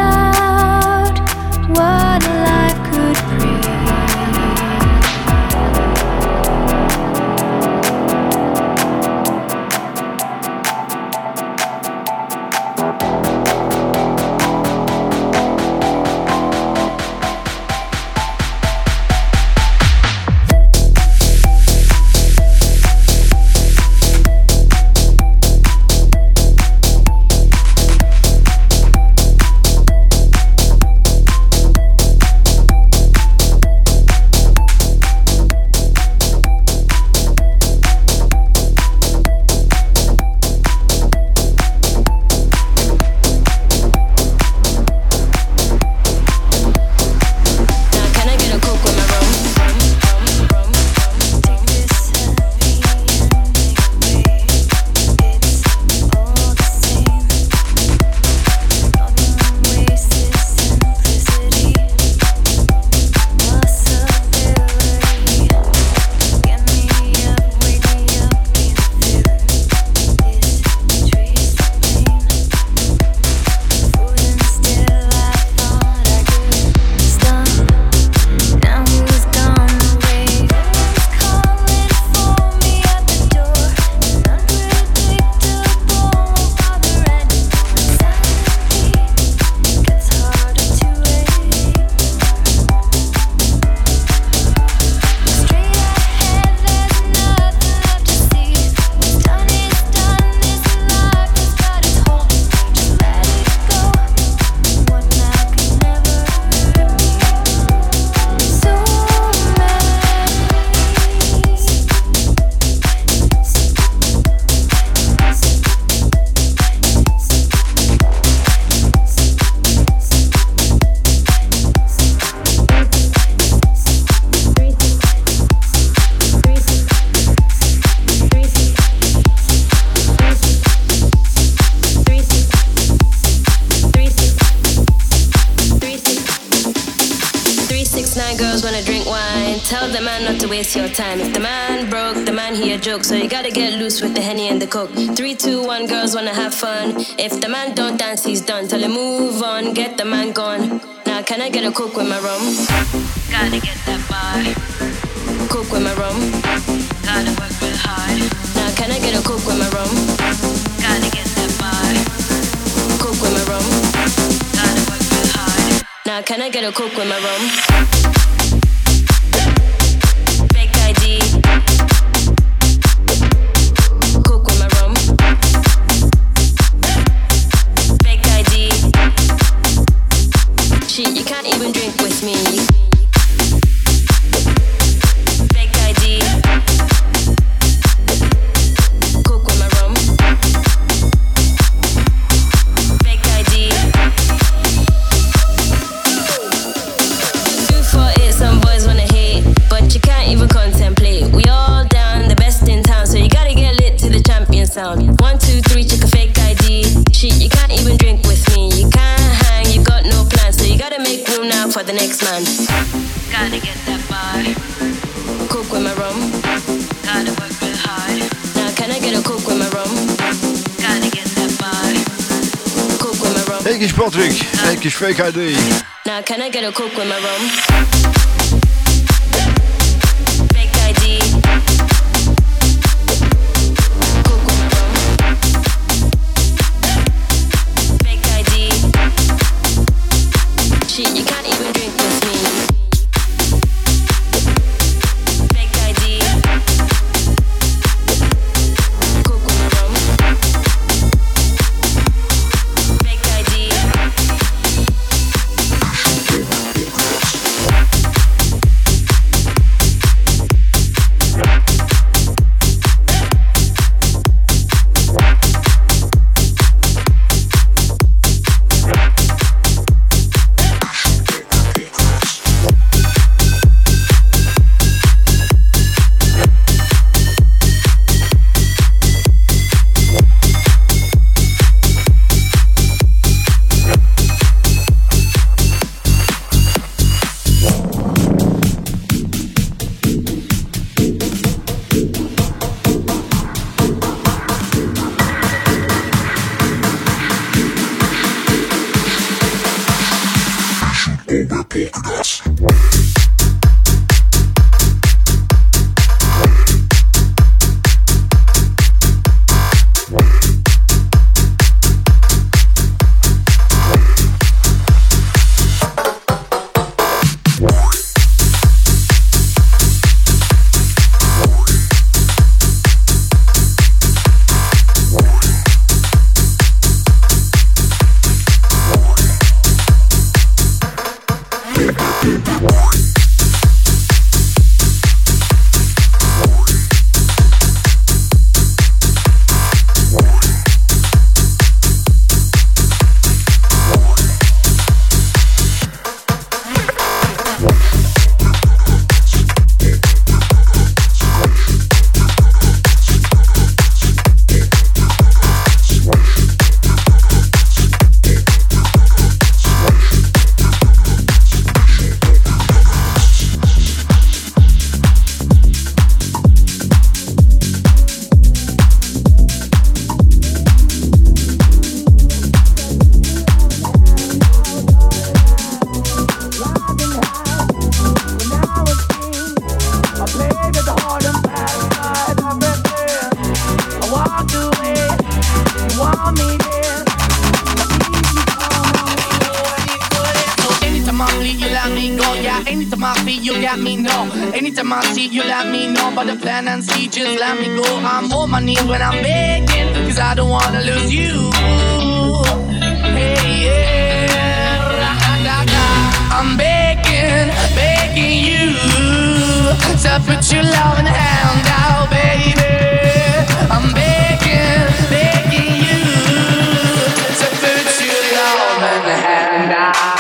Tell the man not to waste your time. If the man broke, the man he a joke. So you gotta get loose with the Henny and the Coke. 3, 2, 1, girls wanna have fun. If the man don't dance, he's done. Tell him move on, get the man gone. Now can I get a Coke with my rum? Gotta get that bar. Coke with my rum. Gotta work real hard. Now can I get a Coke with my rum? Gotta get that bar. Coke with my rum. Gotta work real hard. Now can I get a Coke with my rum? You can't even drink with me. Fake ID. Coke with my rum. Fake ID. 248, some boys wanna hate, but you can't even contemplate. We all down, the best in town, so you gotta get lit to the champion sound. 1, 2, 3, check a fake ID. Shit, you can't even drink with me. You can't hang, you got no plans, so you gotta make room now for the next man. Gotta get that bar. Coke with my rum. Gotta work real hard. Now can I get a Coke with my rum? Gotta get that bar. Coke with my rum.
Egy kis Patrick, egy kis fake ID.
Now can I get a Coke with my rum? Fake ID. Coke with my rum. Fake ID. Shit, you can't even drink with me. Fake ID. Coke with my rum. Fake ID.
Anytime I see you, let me know about the plan and see, just let me go. I'm on my knees when I'm begging, cause I don't wanna lose you. Hey, yeah, I'm begging, begging you to put your love in the hand out, baby. I'm begging, begging you to put your love in the hand out.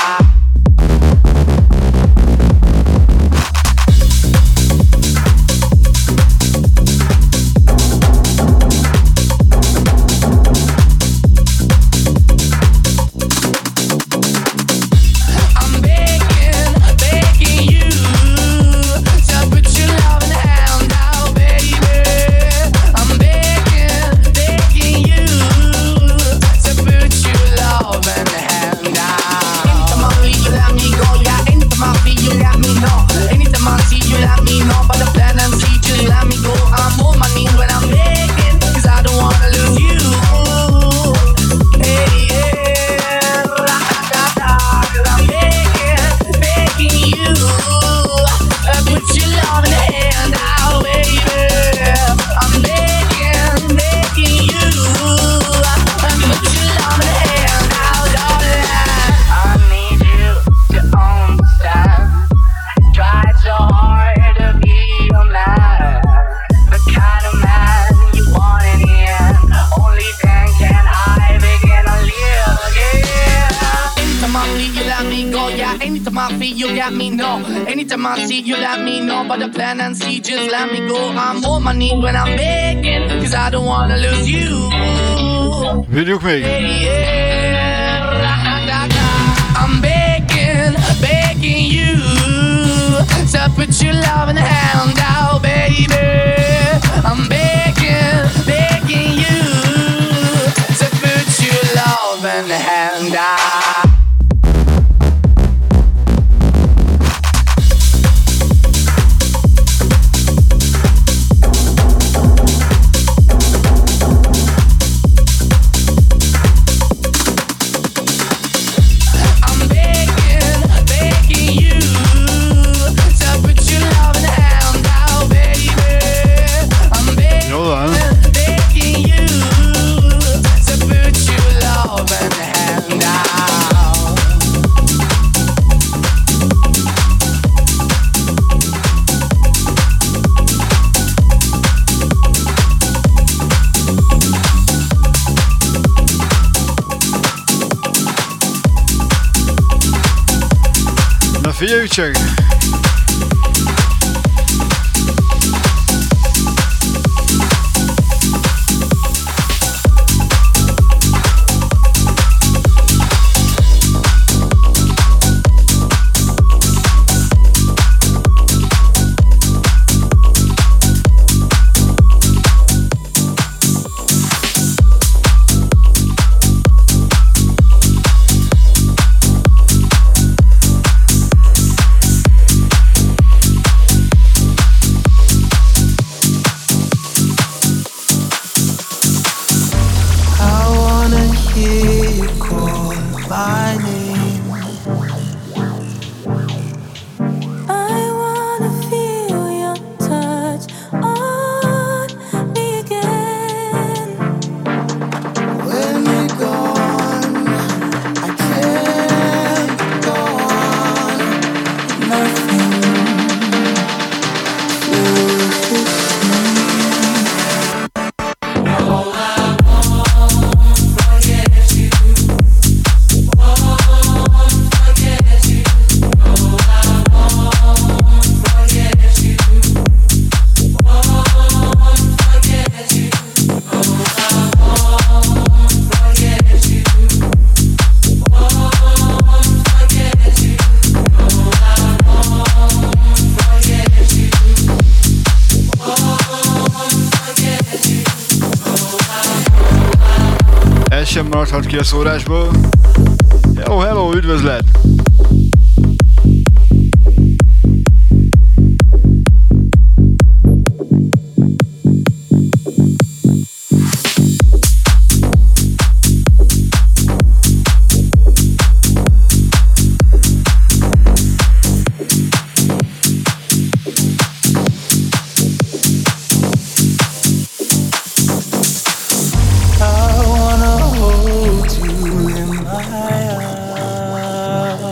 Begging
time I see you, let me know about the plan and see, just let me go. I'm on my knees when I'm begging, cause I don't wanna lose you.
Vigyük még!
I'm begging, begging you to put your love in the hand out, baby. I'm begging, begging you to put your love in the hand out.
Figyeljük csak! Sem maradhat ki a szórásból. Hello, hello, üdvözlet!
I wanna hold you in my arms.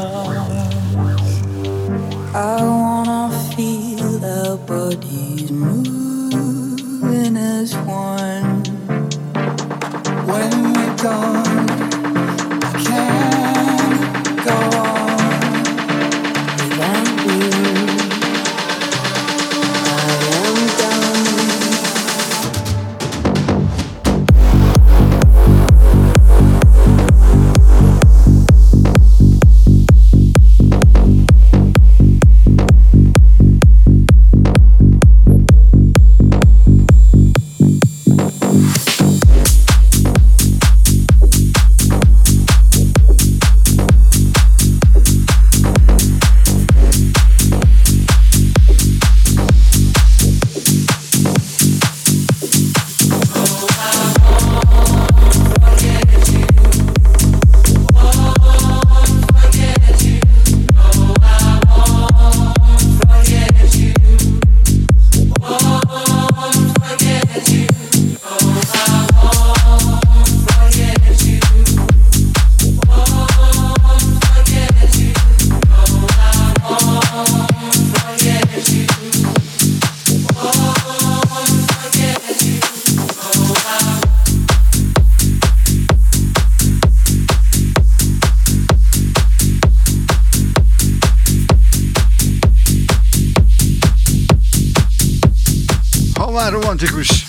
már romantikus.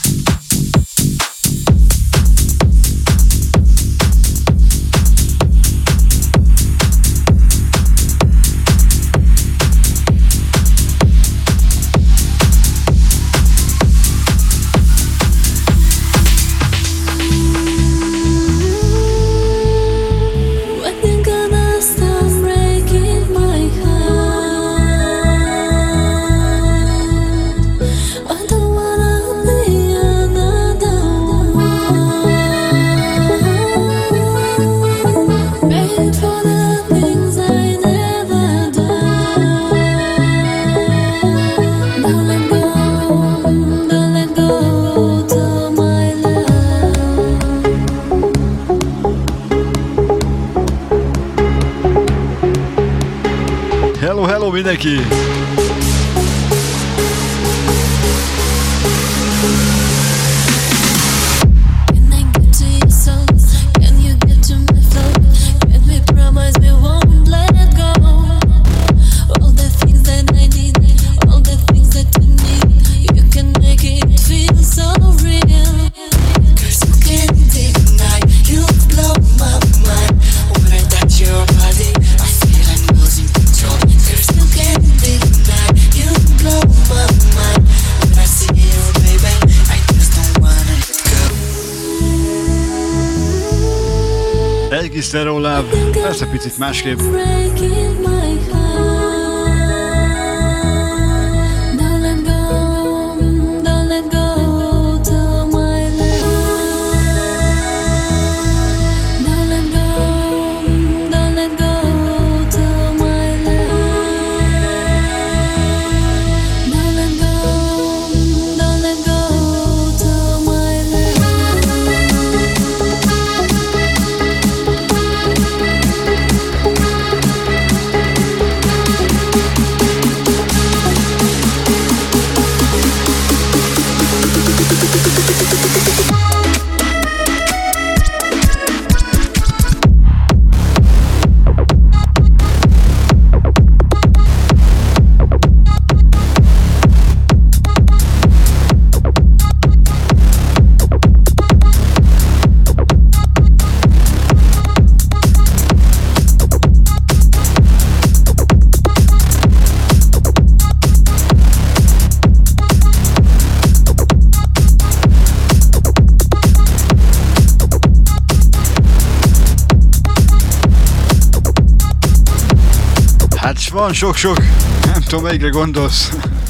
Hello mindenki! Egész lerólább, persze picit másképp. Van sok-sok, nem tudom melyikre gondolsz.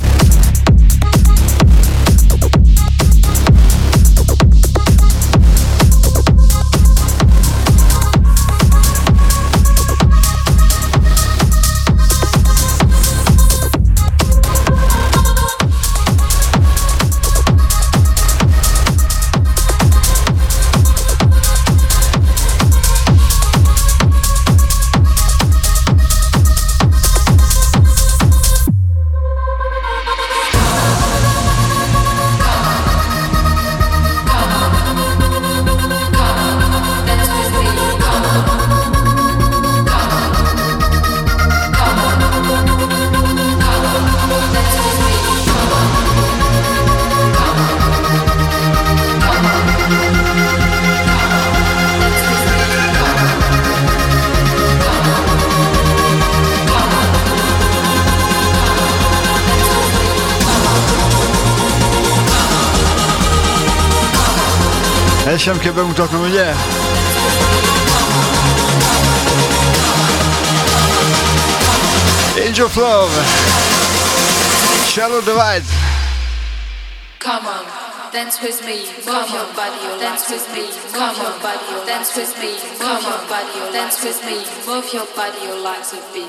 Ezt sem kell bemutatnom, ugye? Angel of Love, Shallow Divide.
Come on, dance with me, move your body, dance with me, come on, body, dance with me, come on, body, dance with me, move your body, your legs a beat.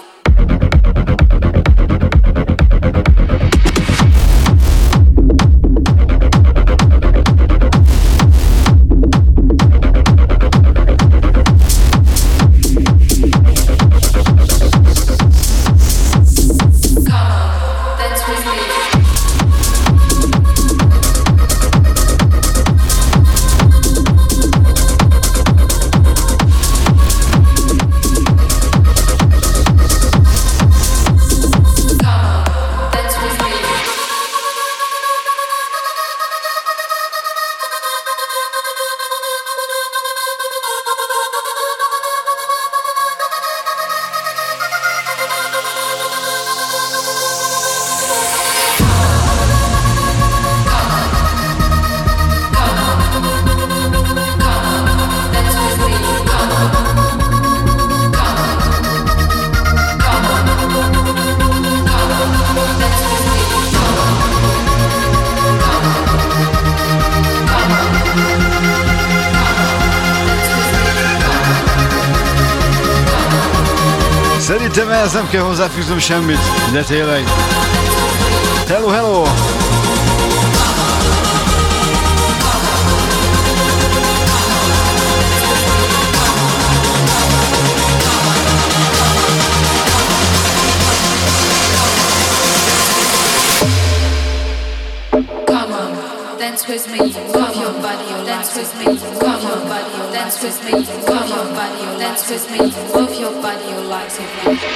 Szerintem ehhez nem kell hozzáfűznöm semmit, de tényleg. Hello, hello!
Dance with me, move your body, dance with me, move your body, dance with me, move your body, dance with me, move your body, your legs with me.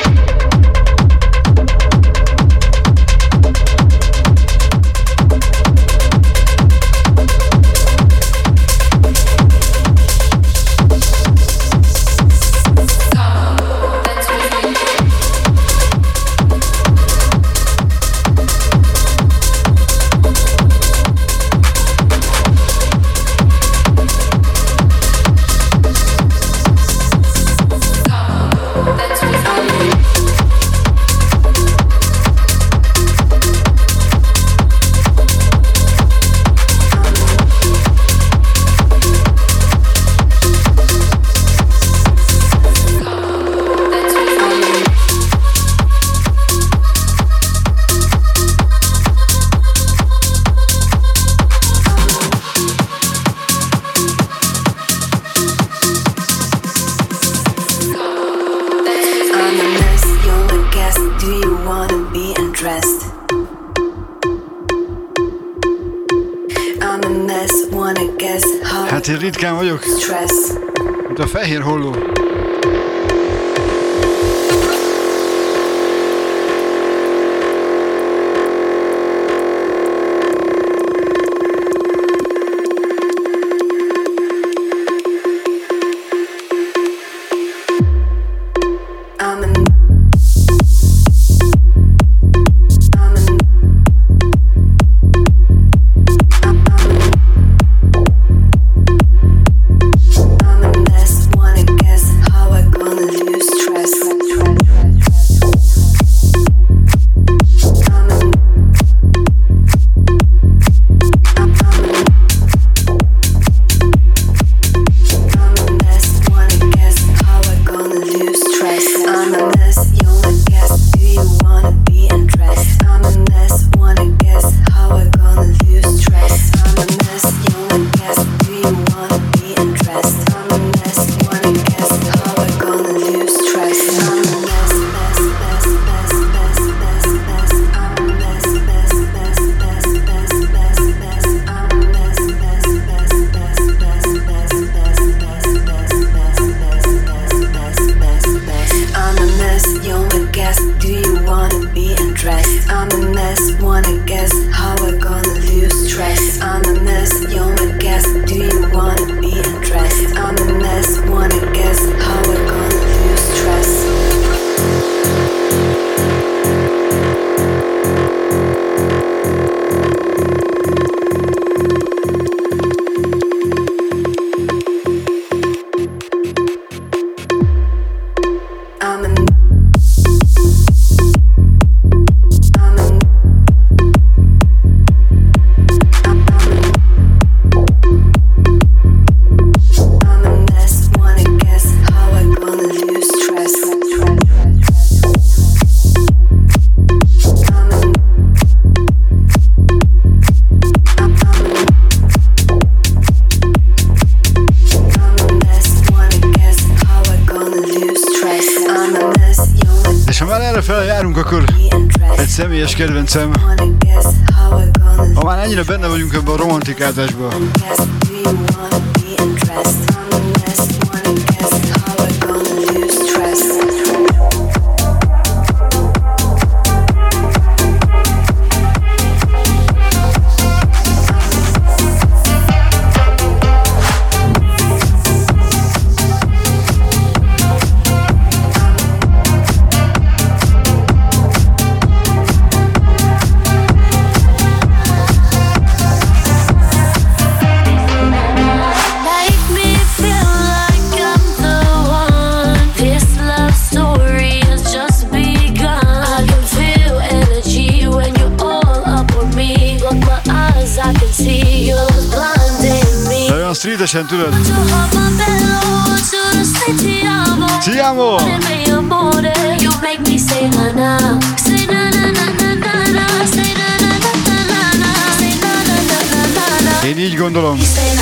Hát én ritkán vagyok, mint a fehér holló. Személyes kedvencem. Ha már ennyire benne vagyunk ebben a romantikázásban. sweetesen tudod. Ti amo! Én így gondolom.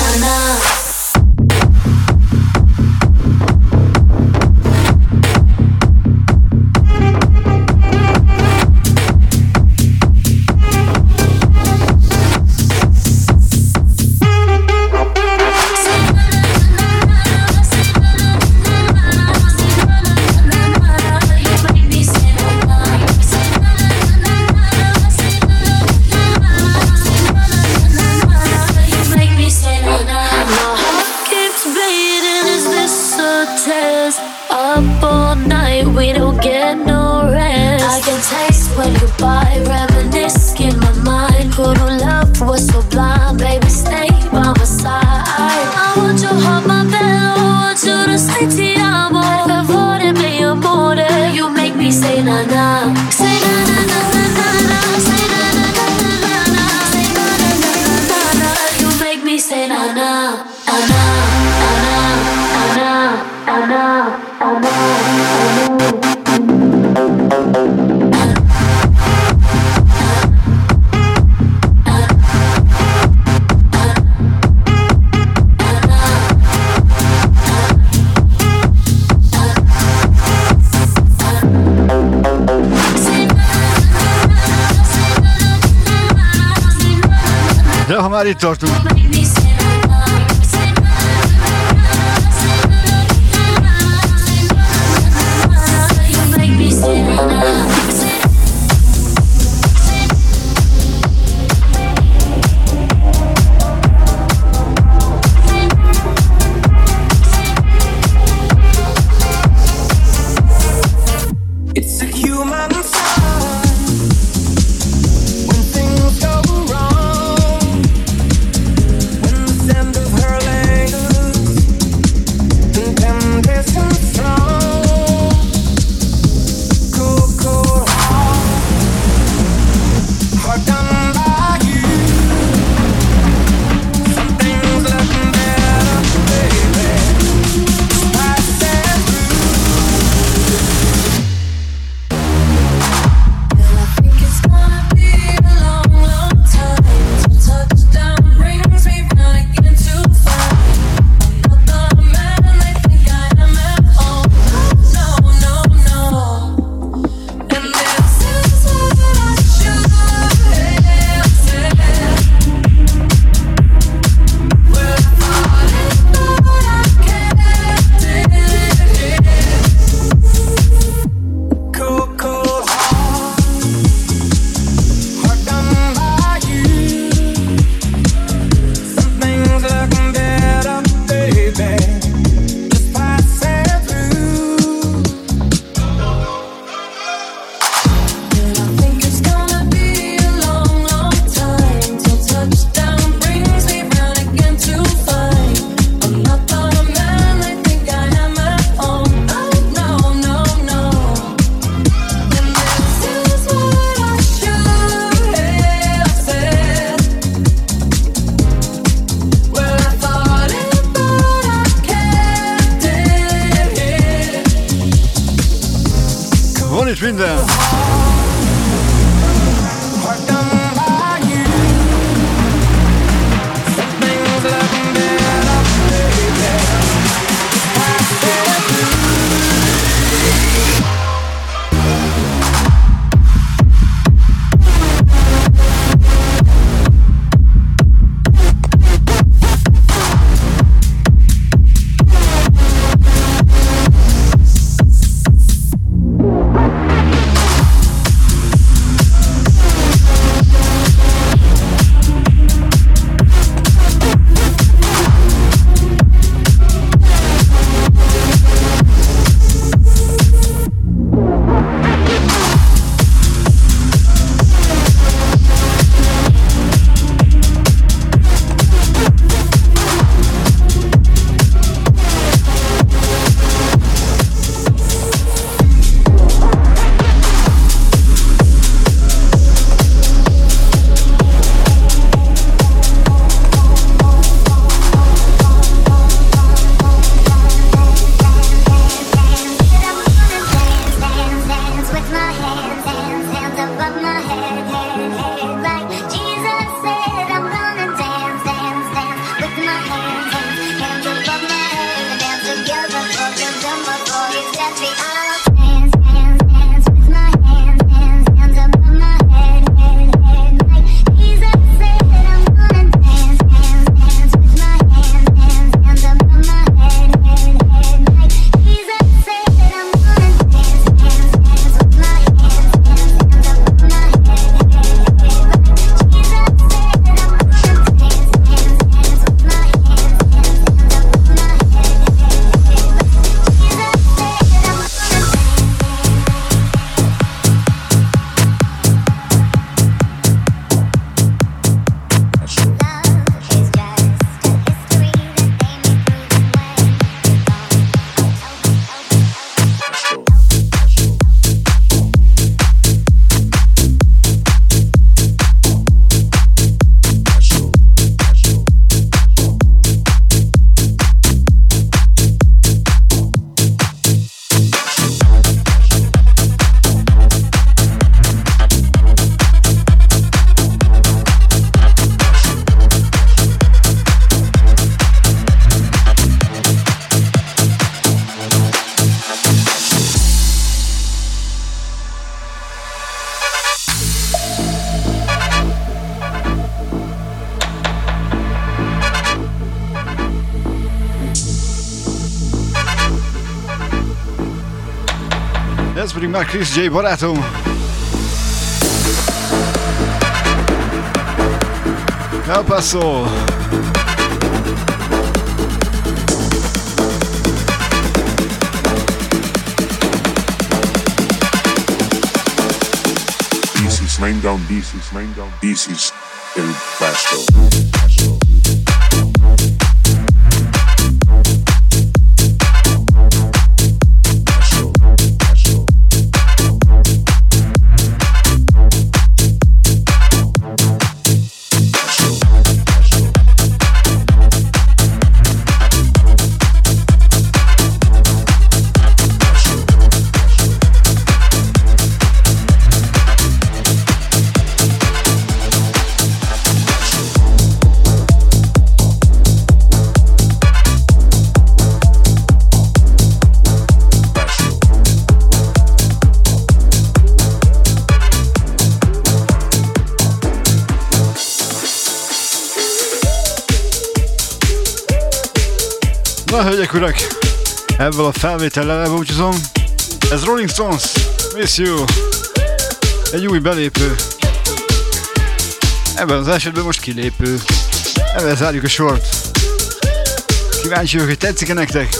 Már itt tartunk. Ez pedig már Chris J barátom. El Paso.
This is laying down, this is El Paso.
Na, hölgyek, urak, ebből a felvétellel elbúcsúzom. Ez Rolling Stones, Miss You. Egy új belépő. Ebben az esetben most kilépő. Ebben zárjuk a sort. Kíváncsi vagyok, hogy tetszik-e nektek?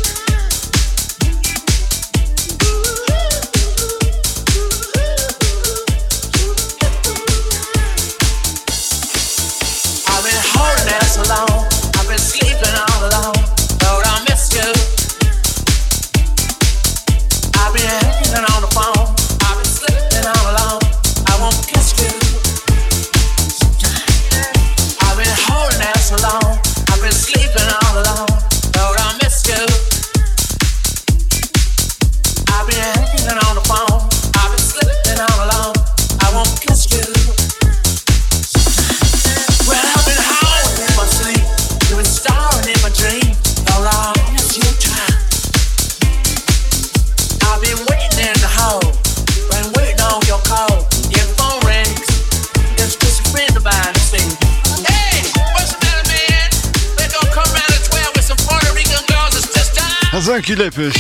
Ez olyan kilépős.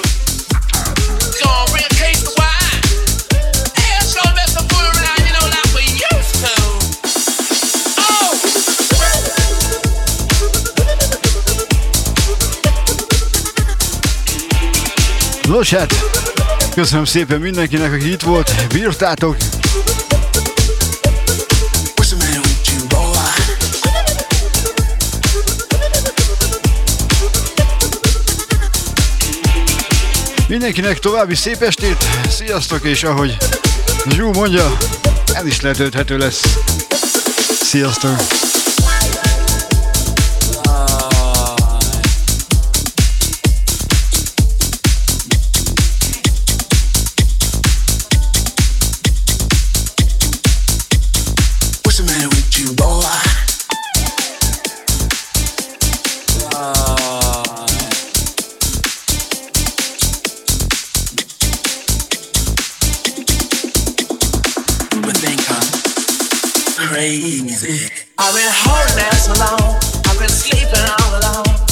Nos hát, köszönöm szépen mindenkinek, aki itt volt, bírtátok. Mindenkinek további szép estét, sziasztok, és ahogy Zsú mondja, ez is letölthető lesz. Sziasztok!
Crazy. I've been holding that so long. I've been sleeping all alone.